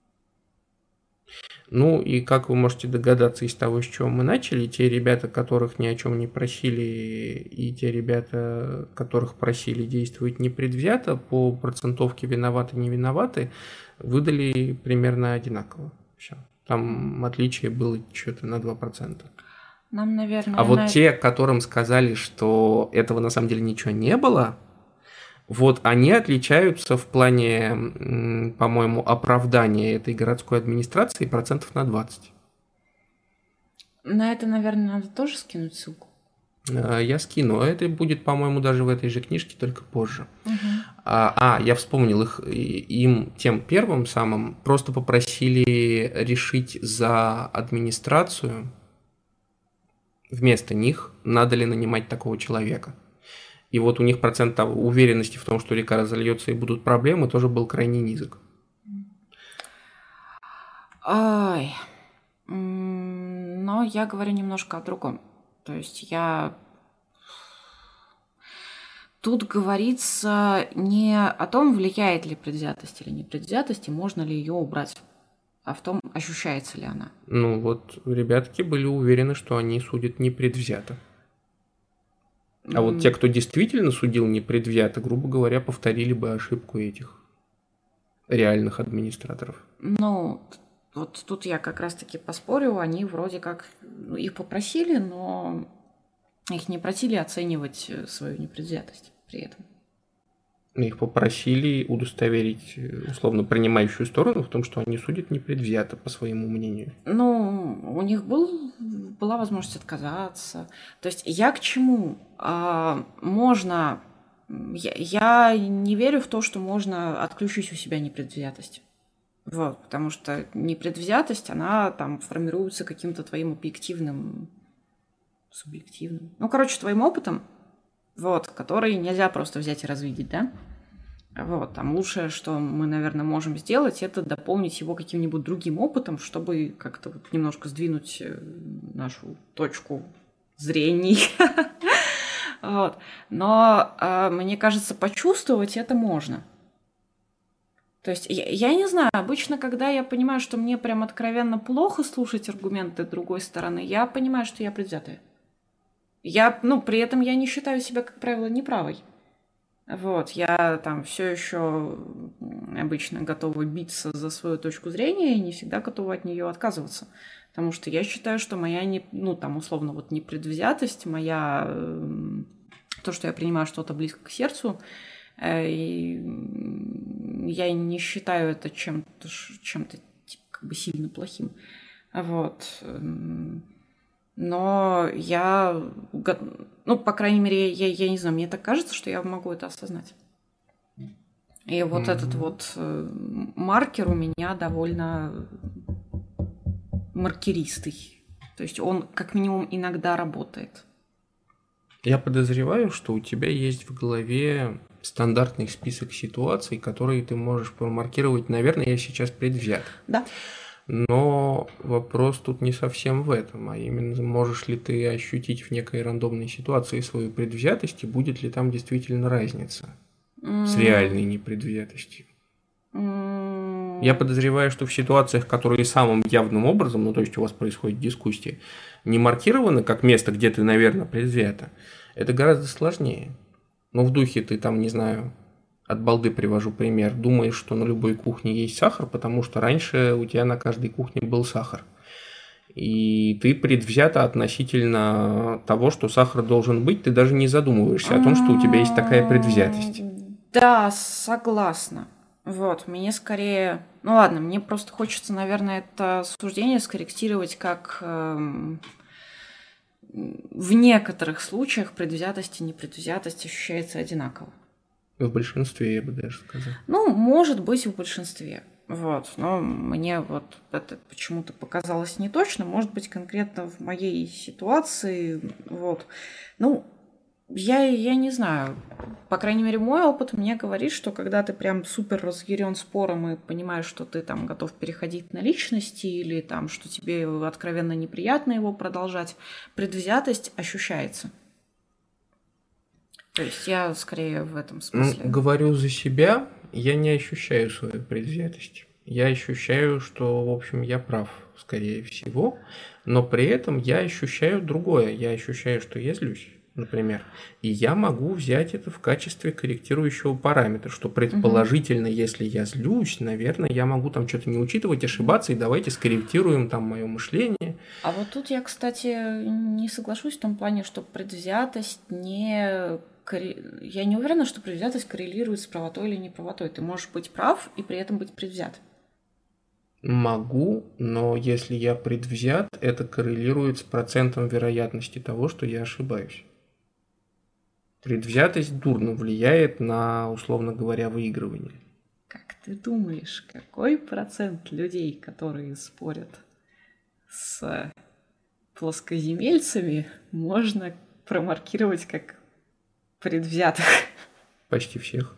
Ну и как вы можете догадаться из того, с чего мы начали, те ребята, которых ни о чем не просили, и те ребята, которых просили действовать непредвзято, по процентовке виноваты-не виноваты, выдали примерно одинаково. Все. Там отличие было что-то на два процента. Нам, наверное... А вот на... те, которым сказали, что этого на самом деле ничего не было, вот они отличаются в плане, по-моему, оправдания этой городской администрации процентов на двадцать. На это, наверное, надо тоже скинуть ссылку. Я скину. Это будет, по-моему, даже в этой же книжке, только позже. Угу. А, а, я вспомнил их, им тем первым самым просто попросили решить за администрацию, вместо них, надо ли нанимать такого человека. И вот у них процент уверенности в том, что река разольется и будут проблемы, тоже был крайне низок. Ой. Но я говорю немножко о другом. То есть я... Тут говорится не о том, влияет ли предвзятость или непредвзятость, и можно ли ее убрать, а в том, ощущается ли она. Ну вот ребятки были уверены, что они судят непредвзято. А mm. вот те, кто действительно судил непредвзято, грубо говоря, повторили бы ошибку этих реальных администраторов. Ну, вот тут я как раз-таки поспорю, они вроде как их попросили, но их не просили оценивать свою непредвзятость при этом. Их попросили удостоверить условно принимающую сторону в том, что они судят непредвзято, по своему мнению. Ну, у них был, была возможность отказаться. То есть я к чему? А, можно... Я, я не верю в то, что можно отключить у себя непредвзятость. Вот, потому что непредвзятость, она там формируется каким-то твоим объективным, субъективным, ну, короче, твоим опытом, вот, который нельзя просто взять и развидеть, да? Вот, там лучшее, что мы, наверное, можем сделать, это дополнить его каким-нибудь другим опытом, чтобы как-то вот немножко сдвинуть нашу точку зрения. Вот. Но мне кажется, почувствовать это можно. То есть, я, я не знаю, обычно, когда я понимаю, что мне прям откровенно плохо слушать аргументы другой стороны, я понимаю, что я предвзятая. Я, ну, при этом я не считаю себя, как правило, неправой. Вот, я там все еще обычно готова биться за свою точку зрения и не всегда готова от нее отказываться. Потому что я считаю, что моя, не, ну, там, условно, вот непредвзятость, моя, то, что я принимаю что-то близко к сердцу, и я не считаю это чем-то, чем-то типа, как бы сильно плохим. Вот. Но я, ну, по крайней мере, я, я не знаю, мне так кажется, что я могу это осознать. И вот Мгм. этот вот э, маркер у меня довольно маркеристый. То есть он как минимум иногда работает. Я подозреваю, что у тебя есть в голове стандартный список ситуаций, которые ты можешь промаркировать. Наверное, я сейчас предвзят. Да. Но вопрос тут не совсем в этом, а именно можешь ли ты ощутить в некой рандомной ситуации свою предвзятость, и будет ли там действительно разница с реальной непредвзятостью. Я подозреваю, что в ситуациях, которые самым явным образом, ну то есть у вас происходит дискуссия, не маркированы как место, где ты, наверное, предвзята, это гораздо сложнее. Но в духе ты там, не знаю, от балды привожу пример, думаешь, что на любой кухне есть сахар, потому что раньше у тебя на каждой кухне был сахар. И ты предвзята относительно того, что сахар должен быть, ты даже не задумываешься о том, что у тебя есть такая предвзятость. Да, согласна. Вот, мне скорее... Ну ладно, мне просто хочется, наверное, это суждение скорректировать как... эм, в некоторых случаях предвзятость и непредвзятость ощущается одинаково. В большинстве, я бы даже сказал. Ну, может быть, в большинстве. Вот, но мне вот это почему-то показалось неточно. Может быть, конкретно в моей ситуации, вот. Ну, я, я не знаю. По крайней мере, мой опыт мне говорит, что когда ты прям супер разъярен спором и понимаешь, что ты там готов переходить на личности или там, что тебе откровенно неприятно его продолжать, предвзятость ощущается. То есть я скорее в этом смысле. Ну, говорю за себя, я не ощущаю свою предвзятость. Я ощущаю, что, в общем, я прав, скорее всего, но при этом я ощущаю другое. Я ощущаю, что я злюсь, например, и я могу взять это в качестве корректирующего параметра, что предположительно, угу. если я злюсь, наверное, я могу там что-то не учитывать, ошибаться, и давайте скорректируем там мое мышление. А вот тут я, кстати, не соглашусь в том плане, что предвзятость не... Я не уверена, что предвзятость коррелирует с правотой или неправотой. Ты можешь быть прав и при этом быть предвзят. Могу, но если я предвзят, это коррелирует с процентом вероятности того, что я ошибаюсь. Предвзятость дурно влияет на, условно говоря, выигрывание. Как ты думаешь, какой процент людей, которые спорят с плоскоземельцами, можно промаркировать как предвзятых? Почти всех.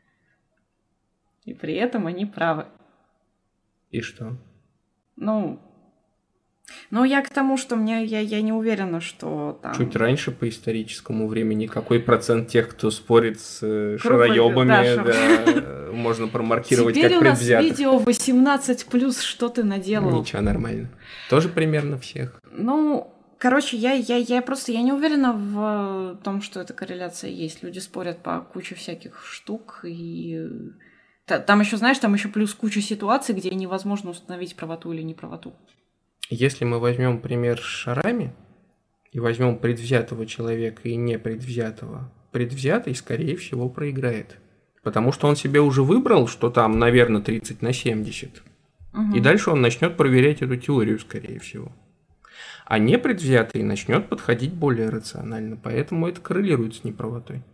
И при этом они правы. И что? Ну, ну я к тому, что мне я, я не уверена, что там... Чуть раньше по историческому времени какой процент тех, кто спорит с шароёбами, да, да, можно промаркировать Теперь как предвзятых? Теперь у нас видео восемнадцать плюс, что ты наделал? Ничего, нормально. Тоже примерно всех. Ну, короче, я, я, я просто я не уверена в том, что эта корреляция есть. Люди спорят по куче всяких штук, и там еще, знаешь, там еще плюс куча ситуаций, где невозможно установить правоту или неправоту. Если мы возьмем пример с шарами и возьмем предвзятого человека и непредвзятого, предвзятый, скорее всего, проиграет. Потому что он себе уже выбрал, что там, наверное, тридцать на семьдесят. Угу. И дальше он начнет проверять эту теорию, скорее всего. А непредвзятый начнет подходить более рационально, поэтому это коррелирует с неправотой.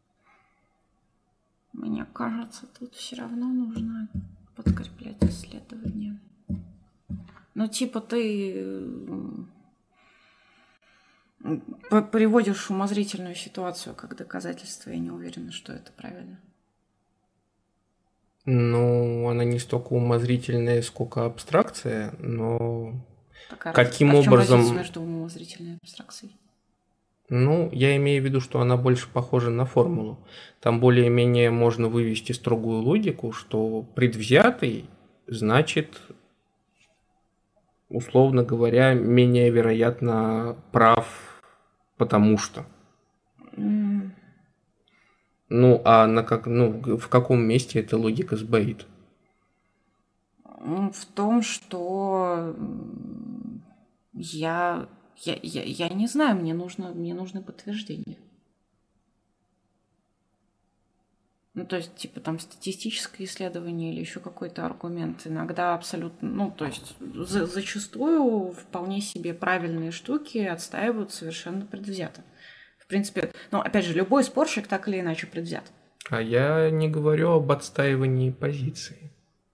Мне кажется, тут все равно нужно подкреплять исследования. Ну, типа, ты приводишь умозрительную ситуацию как доказательство, я не уверена, что это правильно. Ну, она не столько умозрительная, сколько абстракция, но так, а каким а в чем образом... разница между умозрительной и абстракцией? Ну, я имею в виду, что она больше похожа на формулу. Там более-менее можно вывести строгую логику, что предвзятый значит, условно говоря, менее вероятно прав, потому что. Mm. Ну, а на как, ну, в каком месте эта логика сбоит? В том, что я, я, я, я не знаю, мне нужно, мне нужно подтверждение. Ну, то есть, типа, там, статистическое исследование или еще какой-то аргумент. Иногда абсолютно, ну, то есть, за, зачастую вполне себе правильные штуки отстаивают совершенно предвзято. В принципе, ну, опять же, любой спорщик так или иначе предвзят. А я не говорю об отстаивании позиции.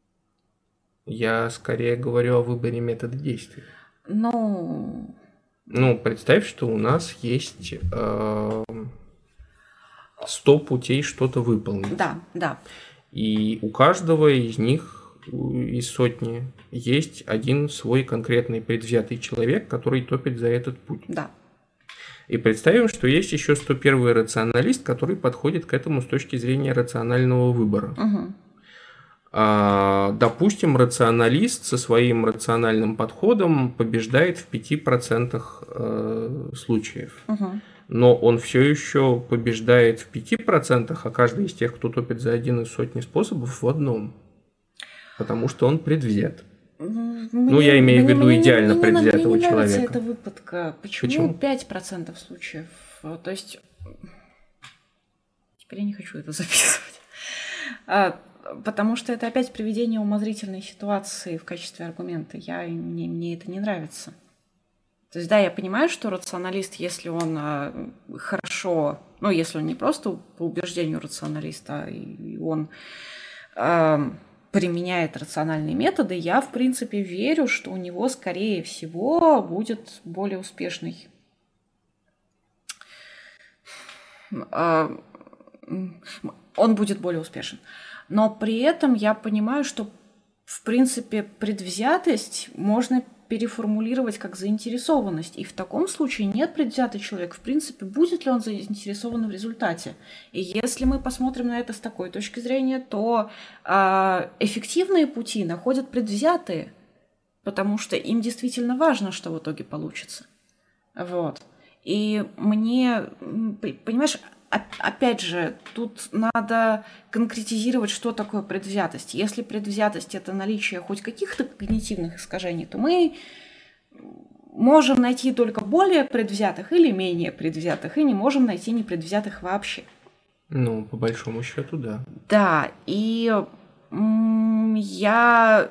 Я скорее говорю о выборе метода действия. Ну, Ну, представь, что у нас есть э, сто путей что-то выполнить. да, да. И у каждого из них, из сотни, есть один свой конкретный предвзятый человек, который топит за этот путь. Да. И представим, что есть еще сто первый рационалист, который подходит к этому с точки зрения рационального выбора. Угу. А, допустим, рационалист со своим рациональным подходом побеждает в пяти процентах э, случаев. Угу. Но он все еще побеждает в пяти процентах, а каждый из тех, кто топит за один из сотни способов, в одном. Потому что он предвзят. Мне, ну, я имею мне, в виду мне, идеально мне, предвзятого мне не человека. Мне эта выпадка. Почему, Почему пять процентов случаев? То есть... Теперь я не хочу это записывать. А, потому что это опять приведение умозрительной ситуации в качестве аргумента. Я, мне, мне это не нравится. То есть, да, я понимаю, что рационалист, если он а, хорошо... Ну, если он не просто по убеждению рационалиста, и он... А, применяет рациональные методы, я, в принципе, верю, что у него, скорее всего, будет более успешный. Он будет более успешен. Но при этом я понимаю, что, в принципе, предвзятость можно переформулировать как заинтересованность. И в таком случае нет предвзятый человек. В принципе, будет ли он заинтересован в результате? И если мы посмотрим на это с такой точки зрения, то э, эффективные пути находят предвзятые, потому что им действительно важно, что в итоге получится. Вот. И мне, понимаешь, опять же, тут надо конкретизировать, что такое предвзятость. Если предвзятость – это наличие хоть каких-то когнитивных искажений, то мы можем найти только более предвзятых или менее предвзятых, и не можем найти непредвзятых вообще. Ну, по большому счету, да. Да, и я...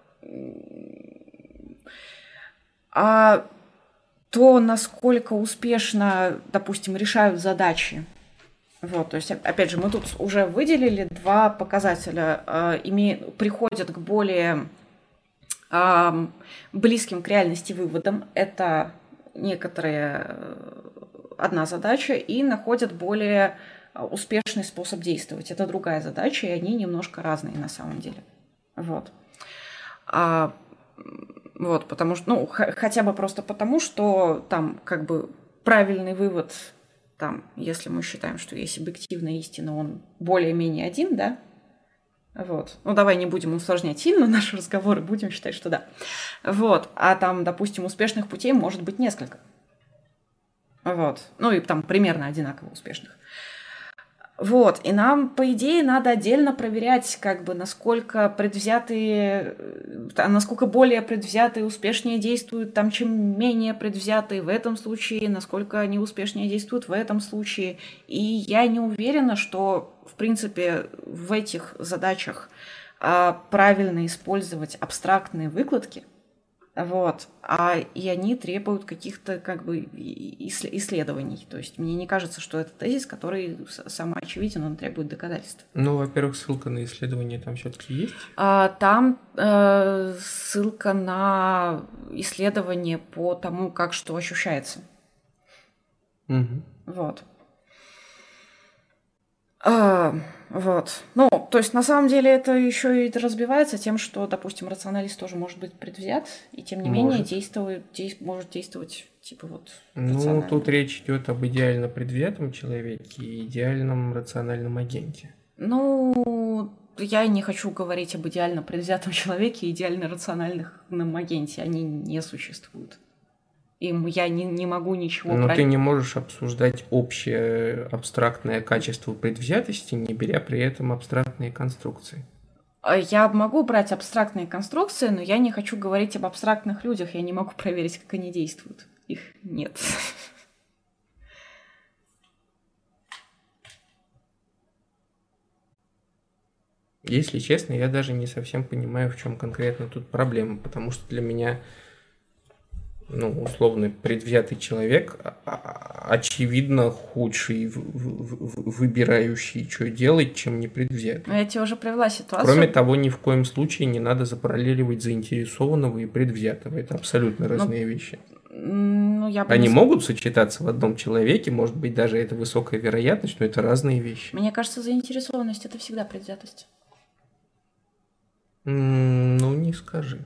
А то, насколько успешно, допустим, решают задачи. Вот, то есть, опять же, мы тут уже выделили два показателя. Э, име... Приходят к более э, близким к реальности выводам. Это некоторая одна задача. И находят более успешный способ действовать. Это другая задача, и они немножко разные на самом деле. Вот. А, вот, потому что, ну, х- хотя бы просто потому, что там как бы правильный вывод... Там, если мы считаем, что есть объективная истина, он более-менее один, да? Вот. Ну, давай не будем усложнять сильно наши разговоры, будем считать, что да. Вот. А там, допустим, успешных путей может быть несколько. Вот. Ну, и там примерно одинаково успешных. Вот. И нам, по идее, надо отдельно проверять, как бы, насколько предвзятые, насколько более предвзятые успешнее действуют, там, чем менее предвзятые в этом случае, насколько они успешнее действуют в этом случае. И я не уверена, что, в принципе, в этих задачах а, правильно использовать абстрактные выкладки. Вот. А, и они требуют каких-то как бы исследований. То есть мне не кажется, что это тезис, который самоочевиден, он требует доказательств. Ну, во-первых, ссылка на исследование там все-таки есть? А, там э, ссылка на исследование по тому, как что ощущается. Угу. Вот. А, вот. Ну, то есть, на самом деле, это еще и разбивается тем, что, допустим, рационалист тоже может быть предвзят, и тем не может. менее действует, действ, может действовать, типа, вот, Ну, тут речь идет об идеально предвзятом человеке и идеальном рациональном агенте. Ну, я не хочу говорить об идеально предвзятом человеке и идеально рациональном агенте. Они не существуют. Им я не, не могу ничего... Но про... ты не можешь обсуждать общее абстрактное качество предвзятости, не беря при этом абстрактные конструкции. Я могу брать абстрактные конструкции, но я не хочу говорить об абстрактных людях. Я не могу проверить, как они действуют. Их нет. Если честно, я даже не совсем понимаю, в чем конкретно тут проблема, потому что для меня... Ну, условно, предвзятый человек, а- а- очевидно, худший, в- в- в- выбирающий, что делать, чем непредвзятый. Но я тебе уже привела ситуацию. Кроме того, ни в коем случае не надо запараллеливать заинтересованного и предвзятого. Это абсолютно разные вещи. Ну, я бы Они не... могут сочетаться в одном человеке, может быть, даже это высокая вероятность, но это разные вещи. Мне кажется, заинтересованность – это всегда предвзятость. М, Ну, не скажи.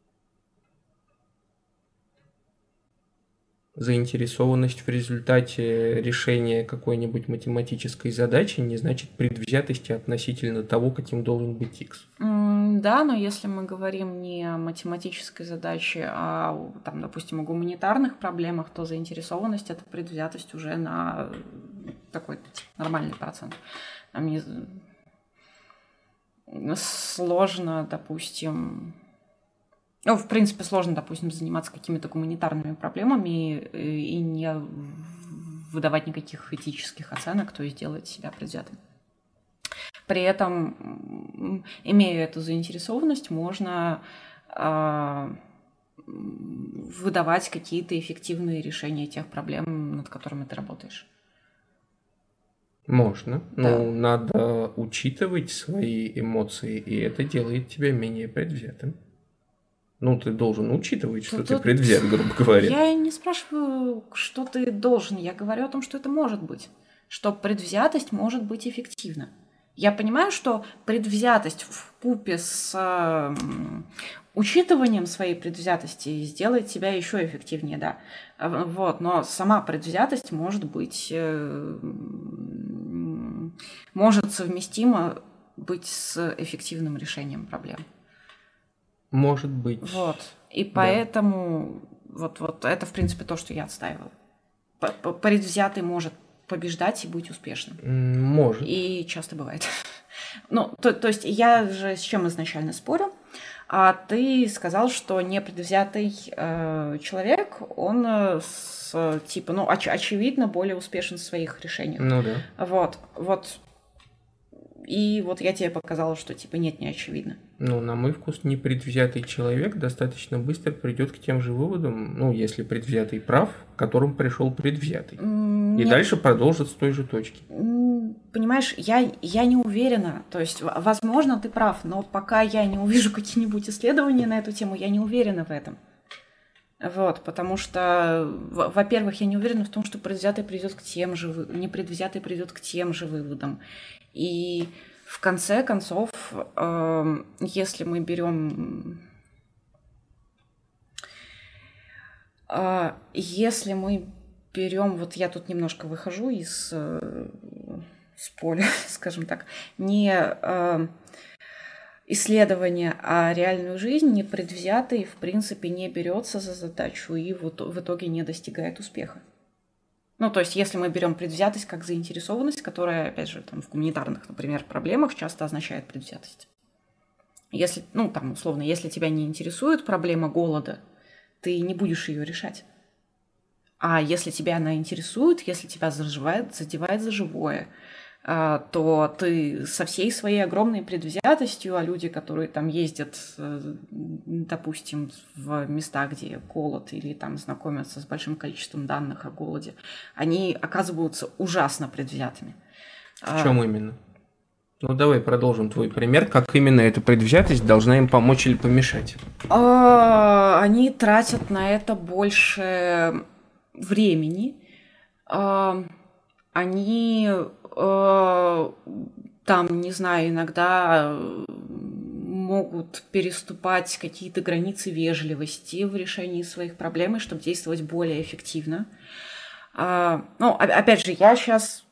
Заинтересованность в результате решения какой-нибудь математической задачи не значит предвзятости относительно того, каким должен быть x. М, Да, но если мы говорим не о математической задаче, а, о, там, допустим, о гуманитарных проблемах, то заинтересованность – это предвзятость уже на такой типа, нормальный процент. Там не... Сложно, допустим... Ну, в принципе, сложно, допустим, заниматься какими-то гуманитарными проблемами и, и не выдавать никаких этических оценок, то есть делать себя предвзятым. При этом, имея эту заинтересованность, можно э, выдавать какие-то эффективные решения тех проблем, над которыми ты работаешь. Можно, Да. но надо учитывать свои эмоции, и это делает тебя менее предвзятым. Ну, ты должен учитывать, что Тут- ты тут предвзят, грубо говоря. Я не спрашиваю, что ты должен, я говорю о том, что это может быть, что предвзятость может быть эффективна. Я понимаю, что предвзятость вкупе с м, учитыванием своей предвзятости сделает тебя еще эффективнее, да. А, Вот, но сама предвзятость может быть, э, м, может совместима быть с эффективным решением проблем. Может быть. Вот. И поэтому вот, вот это, в принципе, то, что я отстаивала. П- п- Предвзятый может побеждать и быть успешным. М, Может. И часто бывает. Ну, то, то есть я же с чем изначально спорю, а ты сказал, что непредвзятый э, человек, он э, с, типа, ну, оч- очевидно, более успешен в своих решениях. Ну да. Вот, вот. И вот я тебе показала, что, типа, нет, не очевидно. Ну, на мой вкус, непредвзятый человек достаточно быстро придет к тем же выводам, ну, если предвзятый прав, к которым пришел предвзятый. М, И нет. дальше продолжит с той же точки. М, Понимаешь, я, я не уверена. То есть, в- возможно, ты прав, но пока я не увижу какие-нибудь исследования на эту тему, я не уверена в этом. Вот, потому что, в- во-первых, я не уверена в том, что предвзятый придет к тем же, вы- непредвзятый придет к тем же выводам. И в конце концов, эм, если мы берем, э, если мы берем, вот я тут немножко выхожу из э, с поля, скажем так, не э, исследование, а реальную жизнь, непредвзятый, в принципе, не берется за задачу и в ито- в итоге не достигает успеха. Ну, то есть, если мы берем предвзятость как заинтересованность, которая, опять же, там, в гуманитарных, например, проблемах часто означает предвзятость. Если, ну, там, условно, если тебя не интересует проблема голода, ты не будешь ее решать. А если тебя она интересует, если тебя заживает, задевает за живое, а, то ты со всей своей огромной предвзятостью, а люди, которые там ездят, э, допустим, в места, где голод, или там знакомятся с большим количеством данных о голоде, они оказываются ужасно предвзятыми. В чем именно? Ну, давай продолжим твой пример. Как именно эта предвзятость должна им помочь или помешать? А, Они тратят на это больше времени. А, Они э, там, не знаю, иногда э, могут переступать какие-то границы вежливости в решении своих проблем, чтобы действовать более эффективно. А, Ну, о- опять же, я сейчас...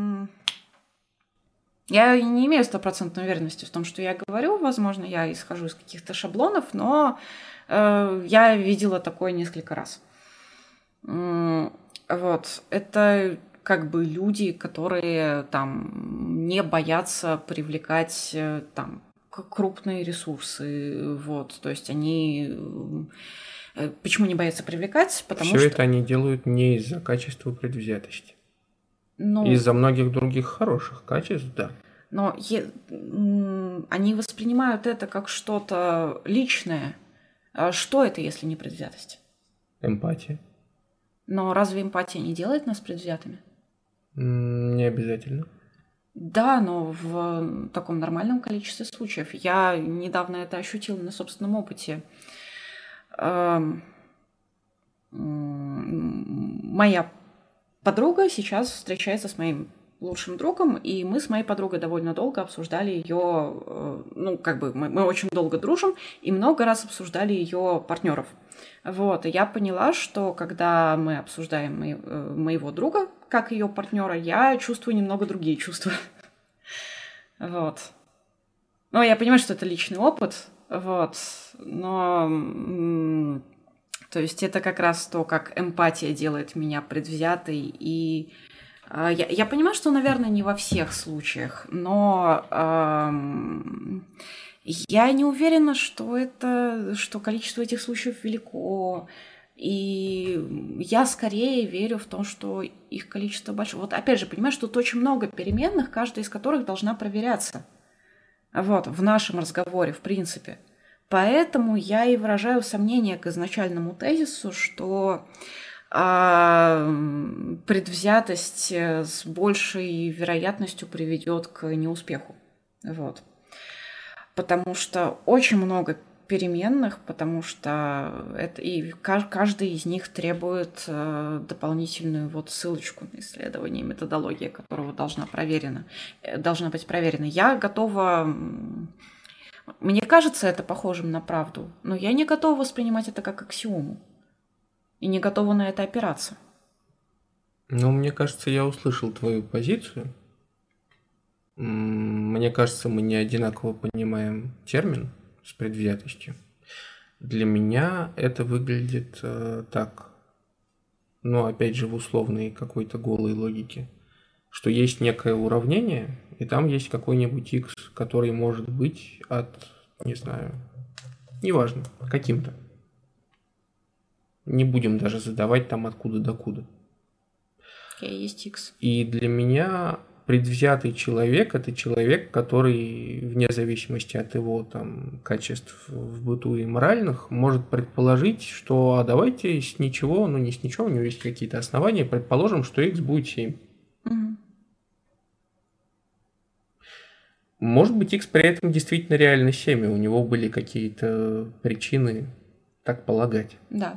Я не имею стопроцентной уверенности в том, что я говорю. Возможно, я исхожу из каких-то шаблонов, но э, я видела такое несколько раз. М, Вот. Это как бы люди, которые там не боятся привлекать э, там к- крупные ресурсы. Вот. То есть они... э, Почему не боятся привлекать? Потому Все что... это они делают не из-за качества предвзятости. Ну, Из-за многих других хороших качеств, да. но е- м, они воспринимают это как что-то личное. А что это, если не предвзятость? эмпатия. Но разве эмпатия не делает нас предвзятыми? М, Не обязательно. Да, но в таком нормальном количестве случаев. Я недавно это ощутила на собственном опыте. Эм, м, Моя подруга сейчас встречается с моим лучшим другом, и мы с моей подругой довольно долго обсуждали ее, ну, как бы мы, мы очень долго дружим, и много раз обсуждали ее партнеров. Вот, и я поняла, что когда мы обсуждаем мо- э, моего друга как ее партнера, я чувствую немного другие чувства. Вот. Ну, я понимаю, что это личный опыт, вот, но, м, то есть это как раз то, как эмпатия делает меня предвзятой, и а, я, я понимаю, что, наверное, не во всех случаях, но ам, я не уверена, что это, что количество этих случаев велико, и я скорее верю в то, что их количество большое. Вот опять же, понимаешь, что тут очень много переменных, каждая из которых должна проверяться. Вот, в нашем разговоре, в принципе. Поэтому я и выражаю сомнение к изначальному тезису, что а, предвзятость э, с большей вероятностью приведет к неуспеху. Вот. Потому что очень много переменных, потому что это и ка- каждый из них требует э, дополнительную вот ссылочку на исследование, методология которого должна проверена, э, должна быть проверена. Я готова, м, мне кажется это похожим на правду, но я не готова воспринимать это как аксиому и не готова на это опираться. Ну, мне кажется, я услышал твою позицию. М, Мне кажется, мы не одинаково понимаем термин с предвзятостью. Для меня это выглядит э, так, ну, опять же, в условной какой-то голой логике, что есть некое уравнение, и там есть какой-нибудь x, который может быть от, не знаю, неважно, каким-то. Не будем даже задавать там откуда докуда. Окей, есть X. И для меня предвзятый человек – это человек, который, вне зависимости от его там, качеств в быту и моральных, может предположить, что а давайте с ничего, ну не с ничего, у него есть какие-то основания, предположим, что x будет семь. Мгм. Может быть, x при этом действительно реально семь, и у него были какие-то причины так полагать. Да.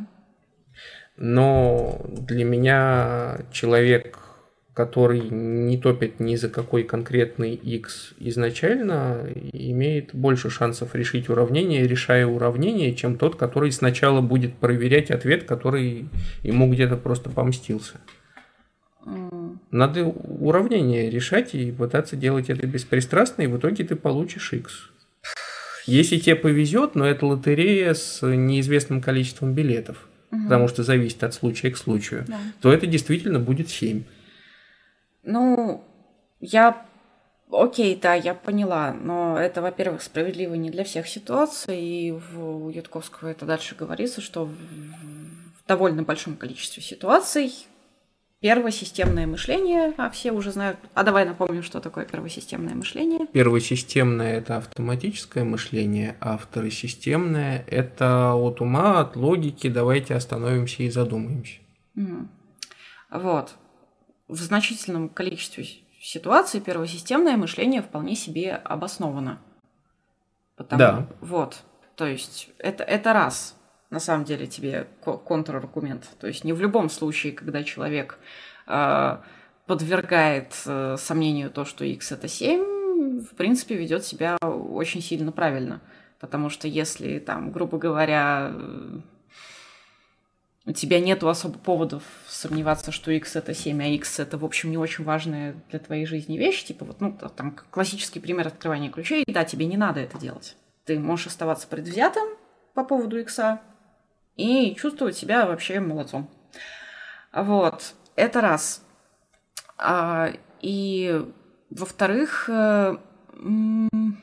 Но для меня человек, который не топит ни за какой конкретный x изначально, имеет больше шансов решить уравнение, решая уравнение, чем тот, который сначала будет проверять ответ, который ему где-то просто помстился. М, Надо уравнение решать и пытаться делать это беспристрастно, и в итоге ты получишь x. Если тебе повезет, но это лотерея с неизвестным количеством билетов, мгм. потому что зависит от случая к случаю, Да. то это действительно будет семь. Ну, я... Окей, да, я поняла, но это, во-первых, справедливо не для всех ситуаций, и в, у Ютковского это дальше говорится, что в, в довольно большом количестве ситуаций первосистемное мышление, а все уже знают... А давай напомним, что такое первосистемное мышление. Первосистемное – это автоматическое мышление, а второсистемное – это от ума, от логики, давайте остановимся и задумаемся. Мгм. Вот. В значительном количестве ситуаций первосистемное мышление вполне себе обосновано. Потому, Да. Вот. То есть это, это раз, на самом деле, тебе ко- контраргумент. То есть не в любом случае, когда человек э, подвергает э, сомнению то, что x это семь, в принципе, ведет себя очень сильно правильно. Потому что если, там, грубо говоря, э, у тебя нету особо поводов сомневаться, что x это семь, а x это, в общем, не очень важная для твоей жизни вещь, типа вот, ну, там, классический пример открывания ключей, да, тебе не надо это делать. Ты можешь оставаться предвзятым по поводу x и чувствовать себя вообще молодцом. Вот, это раз. А, и, во-вторых, э, м,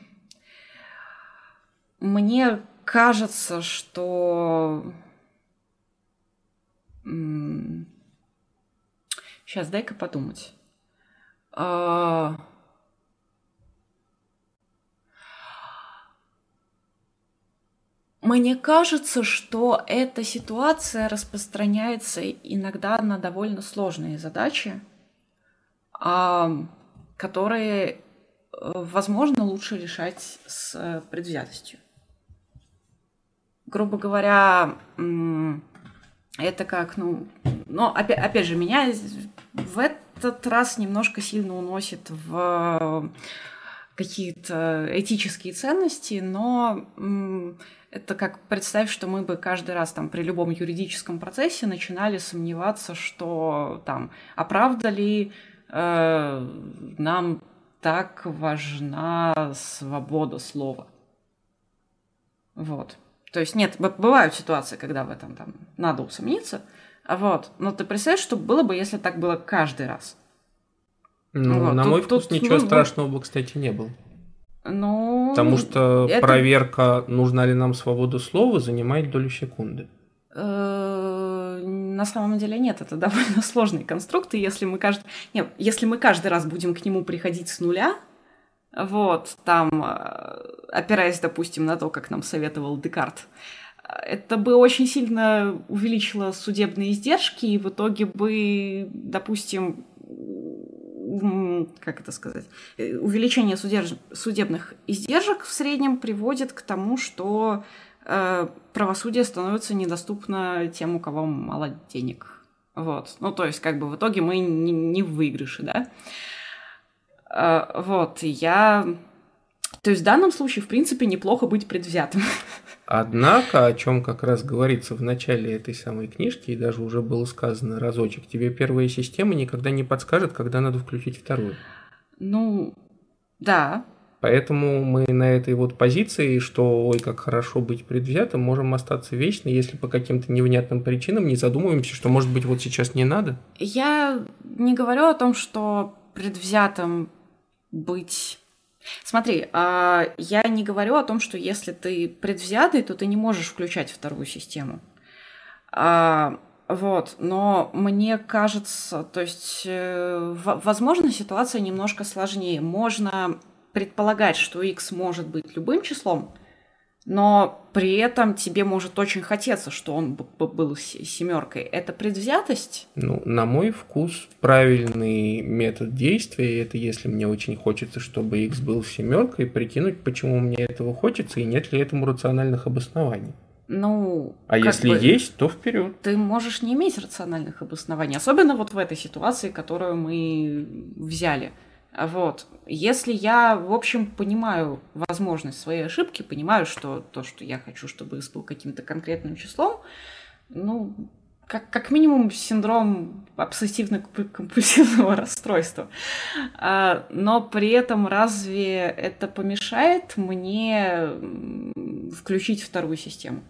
мне кажется, что... м, Сейчас, дай-ка подумать. А, Мне кажется, что эта ситуация распространяется иногда на довольно сложные задачи, а, которые, э, возможно, лучше решать с э, предвзятостью. Грубо говоря, м, это как, ну, но опять, опять же, меня в этот раз немножко сильно уносит в какие-то этические ценности, но м, это как представь, что мы бы каждый раз там при любом юридическом процессе начинали сомневаться, что там, а правда ли э, нам так важна свобода слова. Вот. То есть нет, б- бывают ситуации, когда в этом там надо усомниться, а вот. Но ты представляешь, что было бы, если так было каждый раз? Ну, Вот. на мой Тут, вкус тут, ничего ну, ну, страшного бы, кстати, не было. Потому ну, что это проверка, нужна ли нам свобода слова, занимает долю секунды. э, на самом деле нет, это довольно сложный конструкт, и если мы каждый, нет, если мы каждый раз будем к нему приходить с нуля, вот, там, э, опираясь, допустим, на то, как нам советовал Декарт, это бы очень сильно увеличило судебные издержки, и в итоге бы, допустим, м, как это сказать, э, увеличение судерж- судебных издержек в среднем приводит к тому, что э, правосудие становится недоступно тем, у кого мало денег. Вот. Ну, то есть, как бы в итоге мы не, не в выигрыше, да? Э, вот, и я... То есть в данном случае, в принципе, неплохо быть предвзятым. Однако, о чем как раз говорится в начале этой самой книжки, и даже уже было сказано разочек, тебе первая система никогда не подскажет, когда надо включить вторую. Ну, да. Поэтому мы на этой вот позиции, что ой, как хорошо быть предвзятым, можем остаться вечно, если по каким-то невнятным причинам не задумываемся, что, может быть, вот сейчас не надо. Я не говорю о том, что предвзятым быть... Смотри, а, я не говорю о том, что если ты предвзятый, то ты не можешь включать вторую систему. А, вот, но мне кажется, то есть, э, в- возможно, ситуация немножко сложнее. Можно предполагать, что x может быть любым числом, но при этом тебе может очень хотеться, что он б- б- был с- семеркой. Это предвзятость? Ну, на мой вкус, правильный метод действия, это если мне очень хочется, чтобы x был семеркой, прикинуть, почему мне этого хочется и нет ли этому рациональных обоснований. Ну, А как если бы есть, то вперед. ты можешь не иметь рациональных обоснований, особенно вот в этой ситуации, которую мы взяли. А Вот. Если я, в общем, понимаю возможность своей ошибки, понимаю, что то, что я хочу, чтобы x был каким-то конкретным числом, ну, как, как минимум синдром обсессивно-компульсивного расстройства. А, но при этом разве это помешает мне м, включить вторую систему?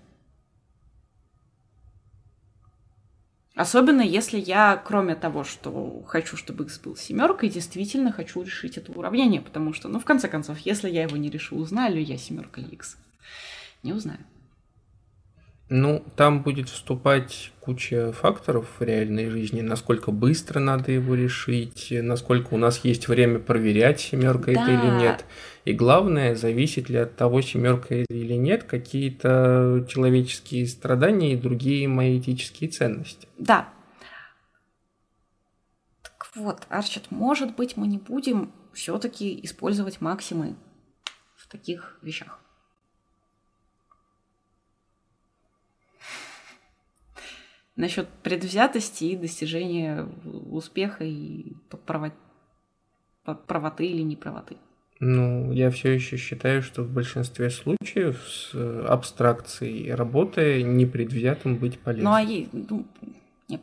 Особенно если я, кроме того, что хочу, чтобы x был семеркой, действительно хочу решить это уравнение, потому что, ну, в конце концов, если я его не решу, узнаю ли я семерка или x? Не узнаю. Ну, там будет вступать куча факторов в реальной жизни, насколько быстро надо его решить, насколько у нас есть время проверять, семерка это или Да, нет. И главное, зависит ли от того, семерка это или нет, какие-то человеческие страдания и другие мои этические ценности. да. Так вот, Арчит, может быть, мы не будем все-таки использовать максимы в таких вещах. Насчет предвзятости и достижения успеха и право- правоты или неправоты. Ну, я все еще считаю, что в большинстве случаев с э, абстракцией работы непредвзятым быть Ну, полезно. а ей, ну, нет.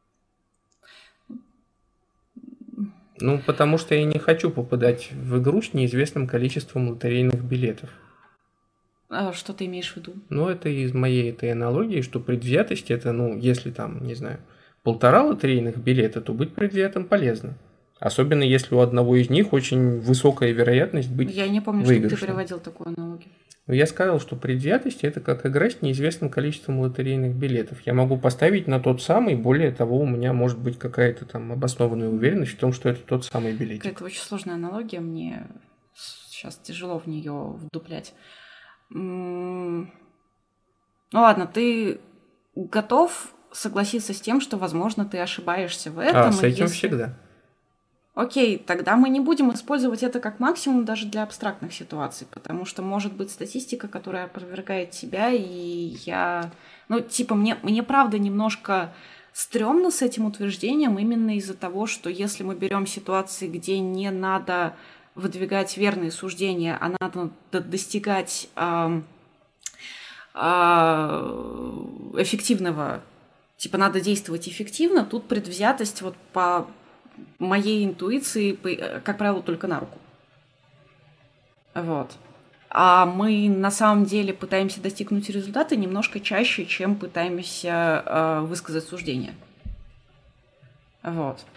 Ну, потому что я не хочу попадать в игру с неизвестным количеством лотерейных билетов. А что ты имеешь в виду? Ну, это из моей этой аналогии, что предвзятость это, ну, если там, не знаю, полтора лотерейных билета, то быть предвзятым полезно. Особенно если у одного из них очень высокая вероятность быть Я не помню, чтобы ты выигрышным. приводил такую аналогию. Но я сказал, что предвзятость это как игра с неизвестным количеством лотерейных билетов. Я могу поставить на тот самый, более того, у меня может быть какая-то там обоснованная уверенность в том, что это тот самый билетик. Какая-то очень сложная аналогия, мне сейчас тяжело в нее вдуплять. М, Ну ладно, ты готов согласиться с тем, что, возможно, ты ошибаешься в этом? А, с этим если... всегда. Окей, тогда мы не будем использовать это как максимум даже для абстрактных ситуаций, потому что может быть статистика, которая опровергает тебя, и я... Ну, типа, мне, мне правда немножко стрёмно с этим утверждением именно из-за того, что если мы берем ситуации, где не надо выдвигать верные суждения, а надо достигать э, э, эффективного, типа, надо действовать эффективно, тут предвзятость вот по... моей интуиции, как правило, только на руку. Вот. А мы на самом деле пытаемся достигнуть результата немножко чаще, чем пытаемся э, высказать суждение. Вот.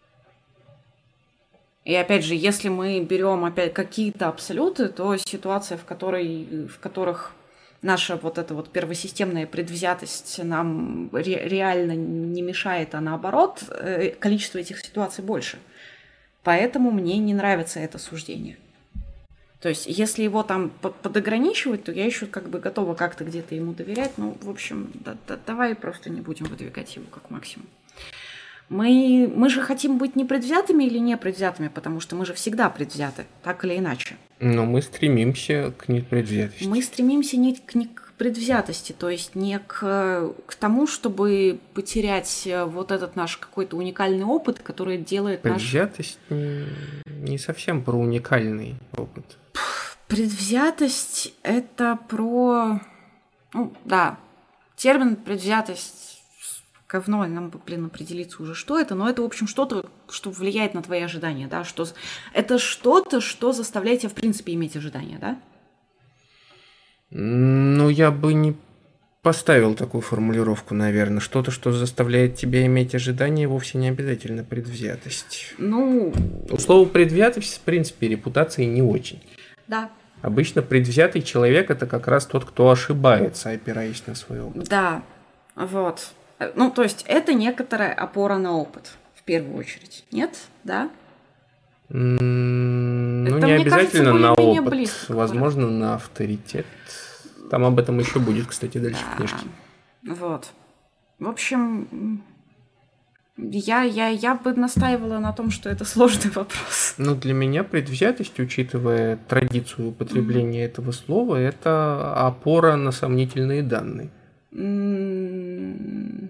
И опять же, если мы берем опять какие-то абсолюты, то ситуация, в которой, в которых наша вот эта вот первосистемная предвзятость нам ре- реально не мешает, а наоборот, количество этих ситуаций больше. Поэтому мне не нравится это суждение. То есть, если его там подограничивать, то я еще как бы готова как-то где-то ему доверять. Ну, в общем, да, да, давай просто не будем выдвигать его как максимум. Мы, мы же хотим быть непредвзятыми или непредвзятыми, потому что мы же всегда предвзяты, так или иначе. Но мы стремимся к непредвзятости. Мы стремимся не к, не к предвзятости, то есть не к, к тому, чтобы потерять вот этот наш какой-то уникальный опыт, который делает наш... Предвзятость не, не совсем про уникальный опыт. Предвзятость – это про... Ну, да, термин «предвзятость» говно, нам бы, блин, определиться уже, что это, но это, в общем, что-то, что влияет на твои ожидания, да, что... Это что-то, что заставляет тебя, в принципе, иметь ожидания, да? Ну, я бы не поставил такую формулировку, наверное. Что-то, что заставляет тебя иметь ожидания, вовсе не обязательно предвзятость. Ну... У слова предвзятость, в принципе, репутации не очень. Да. Обычно предвзятый человек – это как раз тот, кто ошибается, опираясь на свой опыт. Да, вот. Ну, то есть это некоторая опора на опыт, в первую очередь. Нет? Да? Mm, ну, это, не обязательно кажется, на опыт. Близко, возможно, на авторитет. Там об этом еще будет, кстати, дальше да. в книжке. Вот. В общем, я, я, я бы настаивала на том, что это сложный вопрос. Ну, для меня предвзятость, учитывая традицию употребления mm-hmm. этого слова, это опора на сомнительные данные. Mm-hmm.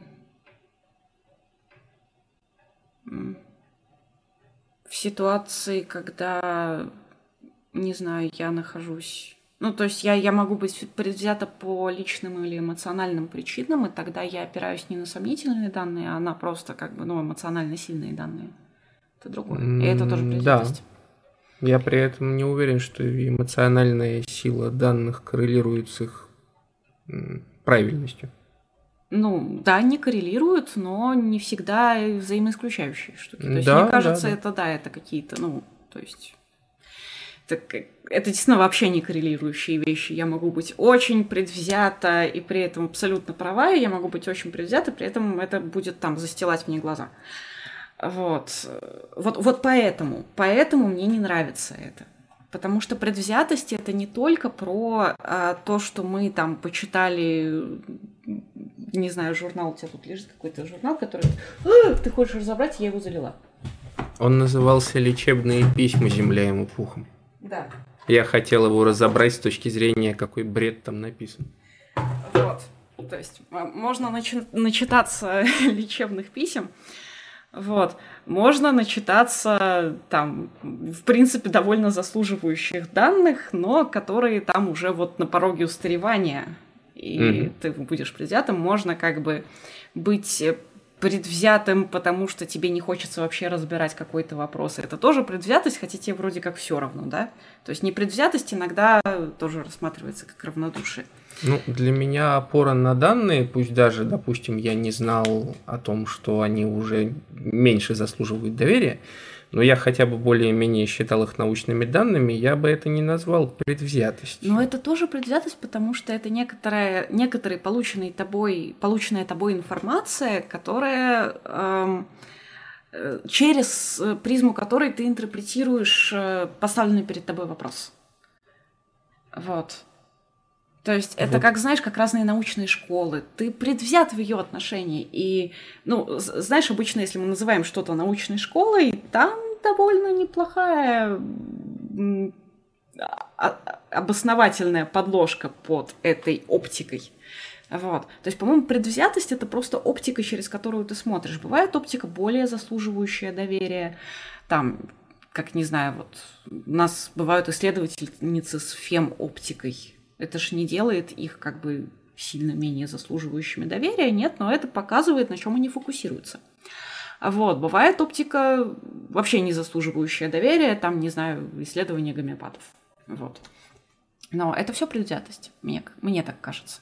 В ситуации, когда, не знаю, я нахожусь... Ну, то есть я, я могу быть предвзята по личным или эмоциональным причинам, и тогда я опираюсь не на сомнительные данные, а на просто как бы, ну, эмоционально сильные данные. Это другое. И это тоже предвзятость. Да. Я при этом не уверен, что эмоциональная сила данных коррелирует с их правильностью. Ну, да, они коррелируют, но не всегда взаимоисключающие штуки. То есть, да, мне кажется, да, да. это, да, это какие-то, ну, то есть... Это, это действительно вообще не коррелирующие вещи. Я могу быть очень предвзята и при этом абсолютно права, и я могу быть очень предвзята, при этом это будет там застилать мне глаза. Вот. Вот, вот поэтому, поэтому мне не нравится это. Потому что предвзятость – это не только про а, то, что мы там почитали, не знаю, журнал, у тебя тут лежит какой-то журнал, который а, ты хочешь разобрать, я его залила. Он назывался «Лечебные письма земля ему пухом». Да. Я хотел его разобрать с точки зрения, какой бред там написан. Вот. То есть можно начи- начитаться лечебных писем, вот. Можно начитаться там, в принципе, довольно заслуживающих данных, но которые там уже вот на пороге устаревания, и mm-hmm. ты будешь предвзятым. Можно как бы быть предвзятым, потому что тебе не хочется вообще разбирать какой-то вопрос. Это тоже предвзятость, хотя тебе вроде как все равно, да? То есть непредвзятость иногда тоже рассматривается как равнодушие. Ну, для меня опора на данные, пусть даже, допустим, я не знал о том, что они уже меньше заслуживают доверия, но я хотя бы более-менее считал их научными данными, я бы это не назвал предвзятостью. Но это тоже предвзятость, потому что это некоторая, некоторая полученная тобой, полученная тобой информация, которая эм, через призму которой ты интерпретируешь поставленный перед тобой вопрос. Вот. То есть это Вот. как, знаешь, как разные научные школы. Ты предвзят в ее отношении. И, ну, з- знаешь, обычно, если мы называем что-то научной школой, там довольно неплохая м, а- а- обосновательная подложка под этой оптикой. Вот. То есть, по-моему, предвзятость — это просто оптика, через которую ты смотришь. Бывает оптика более заслуживающая доверия. Там, как, не знаю, вот у нас бывают исследовательницы с фем-оптикой. Это ж не делает их как бы сильно менее заслуживающими доверия, нет, но это показывает, на чем они фокусируются. Вот, бывает оптика вообще не заслуживающая доверия, там, не знаю, исследования гомеопатов. Вот. Но это все предвзятость, мне, мне так кажется.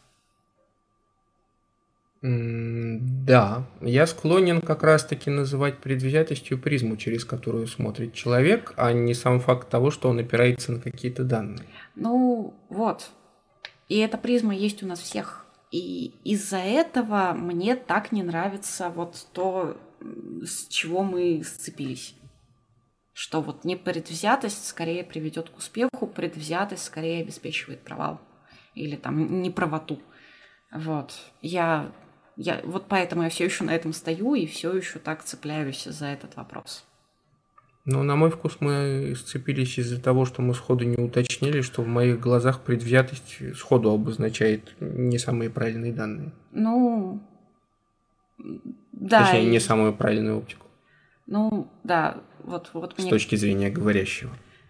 М, Да, я склонен как раз-таки называть предвзятостью призму, через которую смотрит человек, а не сам факт того, что он опирается на какие-то данные. Ну, вот. И эта призма есть у нас всех. И из-за этого мне так не нравится вот то, м, с чего мы сцепились. Что вот непредвзятость скорее приведет к успеху, предвзятость скорее обеспечивает провал или там неправоту. Вот. Я, я, вот поэтому я все еще на этом стою и все еще так цепляюсь за этот вопрос. Но на мой вкус мы сцепились из-за того, что мы сходу не уточнили, что в моих глазах предвзятость сходу обозначает не самые правильные данные. Ну, да, Точнее, не и- самую правильную оптику ну, да, вот, вот с мне точки зрения говорящего.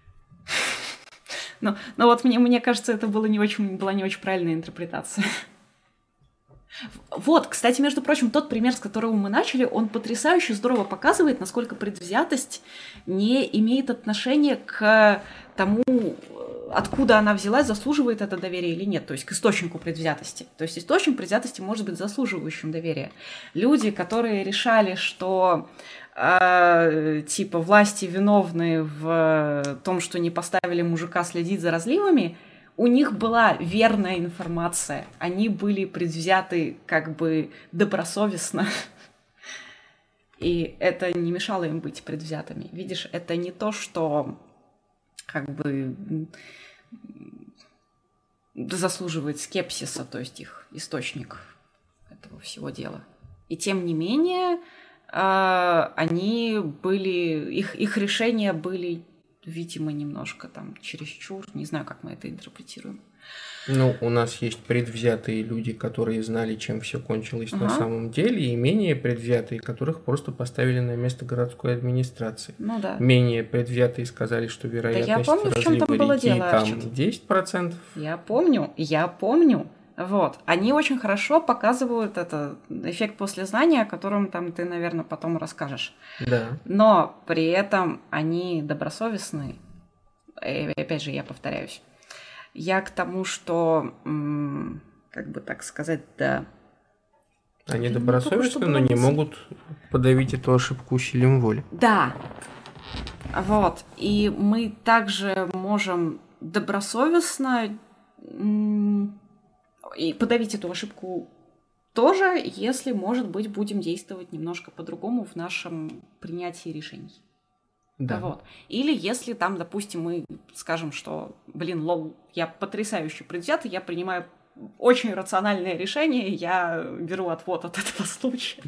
Ну, ну вот мне, мне кажется, это было не очень, была не очень правильная интерпретация. Вот, кстати, между прочим, тот пример, с которого мы начали, он потрясающе здорово показывает, насколько предвзятость не имеет отношения к тому, откуда она взялась, заслуживает это доверие или нет, то есть к источнику предвзятости. То есть источник предвзятости может быть заслуживающим доверия. Люди, которые решали, что э, типа власти виновны в том, что не поставили мужика следить за разливами, у них была верная информация, они были предвзяты как бы добросовестно, и это не мешало им быть предвзятыми. Видишь, это не то, что как бы заслуживает скепсиса, то есть их источник этого всего дела. И тем не менее, они были, их, их решения были, видимо, немножко там чересчур, не знаю, как мы это интерпретируем. Ну, у нас есть предвзятые люди, которые знали, чем все кончилось Ага. на самом деле, и менее предвзятые, которых просто поставили на место городской администрации. Ну да. Менее предвзятые сказали, что вероятность помню, в чём там разлива было реки дело, там Арчит. десять процентов. Я помню, я помню. Вот. Они очень хорошо показывают это эффект послезнания, о котором там ты, наверное, потом расскажешь. Да. Но при этом они добросовестны. И опять же, я повторяюсь. Я к тому, что, м, как бы так сказать, да. Они Да, добросовестны, ну, но не мысль. могут подавить эту ошибку усилием воли. Да. Вот. И мы также можем добросовестно м, и подавить эту ошибку тоже, если, может быть, будем действовать немножко по-другому в нашем принятии решений. Да. Вот. Или если там, допустим, мы скажем, что, блин, лол, я потрясающе предвзятый, я принимаю очень рациональное решение, я беру отвод от этого случая.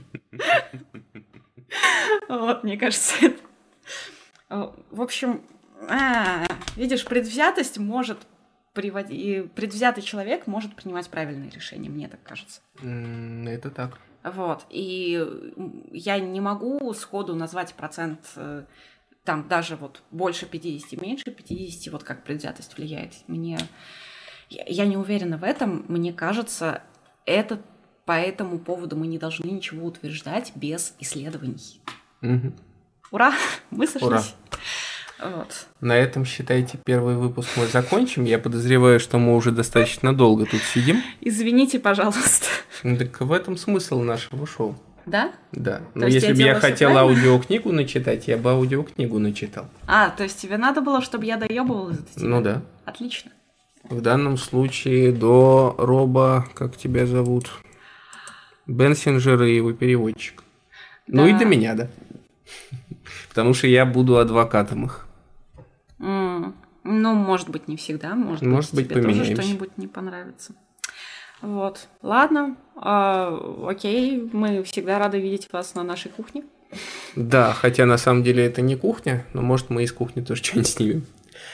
Вот, мне кажется, это... В общем, видишь, предвзятость может приводить... Предвзятый человек может принимать правильные решения, мне так кажется. Это так. Вот. И я не могу сходу назвать процент... Там даже вот больше пятидесяти, меньше пятидесяти, вот как предвзятость влияет. Мне... Я, я не уверена в этом. Мне кажется, это по этому поводу мы не должны ничего утверждать без исследований. Угу. Ура! Мы сошлись. Ура! Вот. На этом, считайте, первый выпуск мы закончим. Я подозреваю, что мы уже достаточно долго тут сидим. Извините, пожалуйста. Ну, так в этом смысл нашего шоу. Да? Да. То Но есть если я бы я делаю всё хотел правильно? аудиокнигу начитать, я бы аудиокнигу начитал. А, то есть тебе надо было, чтобы я доебывалась до тебя? Ну да. Отлично. В данном случае до Роба, как тебя зовут, Бенсинджера и его переводчик. Ну Да. и до меня, да. Потому что я буду адвокатом их. М, Ну, может быть, не всегда. Может, Может быть, быть, тебе тоже поменяемся. что-нибудь не понравится. Вот. Ладно. А, окей. Мы всегда рады видеть вас на нашей кухне. Да, хотя на самом деле это не кухня, но может мы из кухни тоже что-нибудь снимем.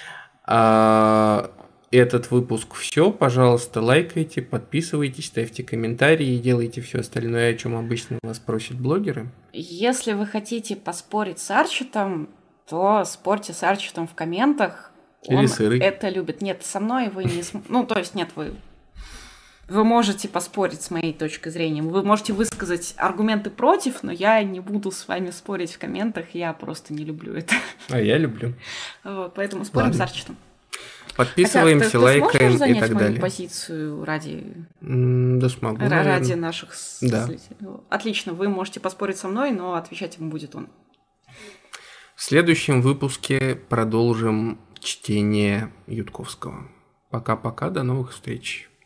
А, этот выпуск все. Пожалуйста, лайкайте, подписывайтесь, ставьте комментарии и делайте все остальное, о чем обычно вас просят блогеры. Если вы хотите поспорить с Арчитом, то спорьте с Арчитом в комментах. Или Он с Ирой. это любит. Нет, со мной вы не... см- Ну, то есть, нет, вы... Вы можете поспорить с моей точки зрения. Вы можете высказать аргументы против, но я не буду с вами спорить в комментах. Я просто не люблю это. А я люблю. Вот, поэтому спорим Ладно. с Арчитом. Подписываемся, Хотя, ты, лайкаем ты сможешь и занять так мою далее. позицию ради, М, Да смогу, ра- ради наверное. наших с- Да. зрителей? Отлично, вы можете поспорить со мной, но отвечать ему будет он. В следующем выпуске продолжим чтение Ютковского. Пока-пока, до новых встреч.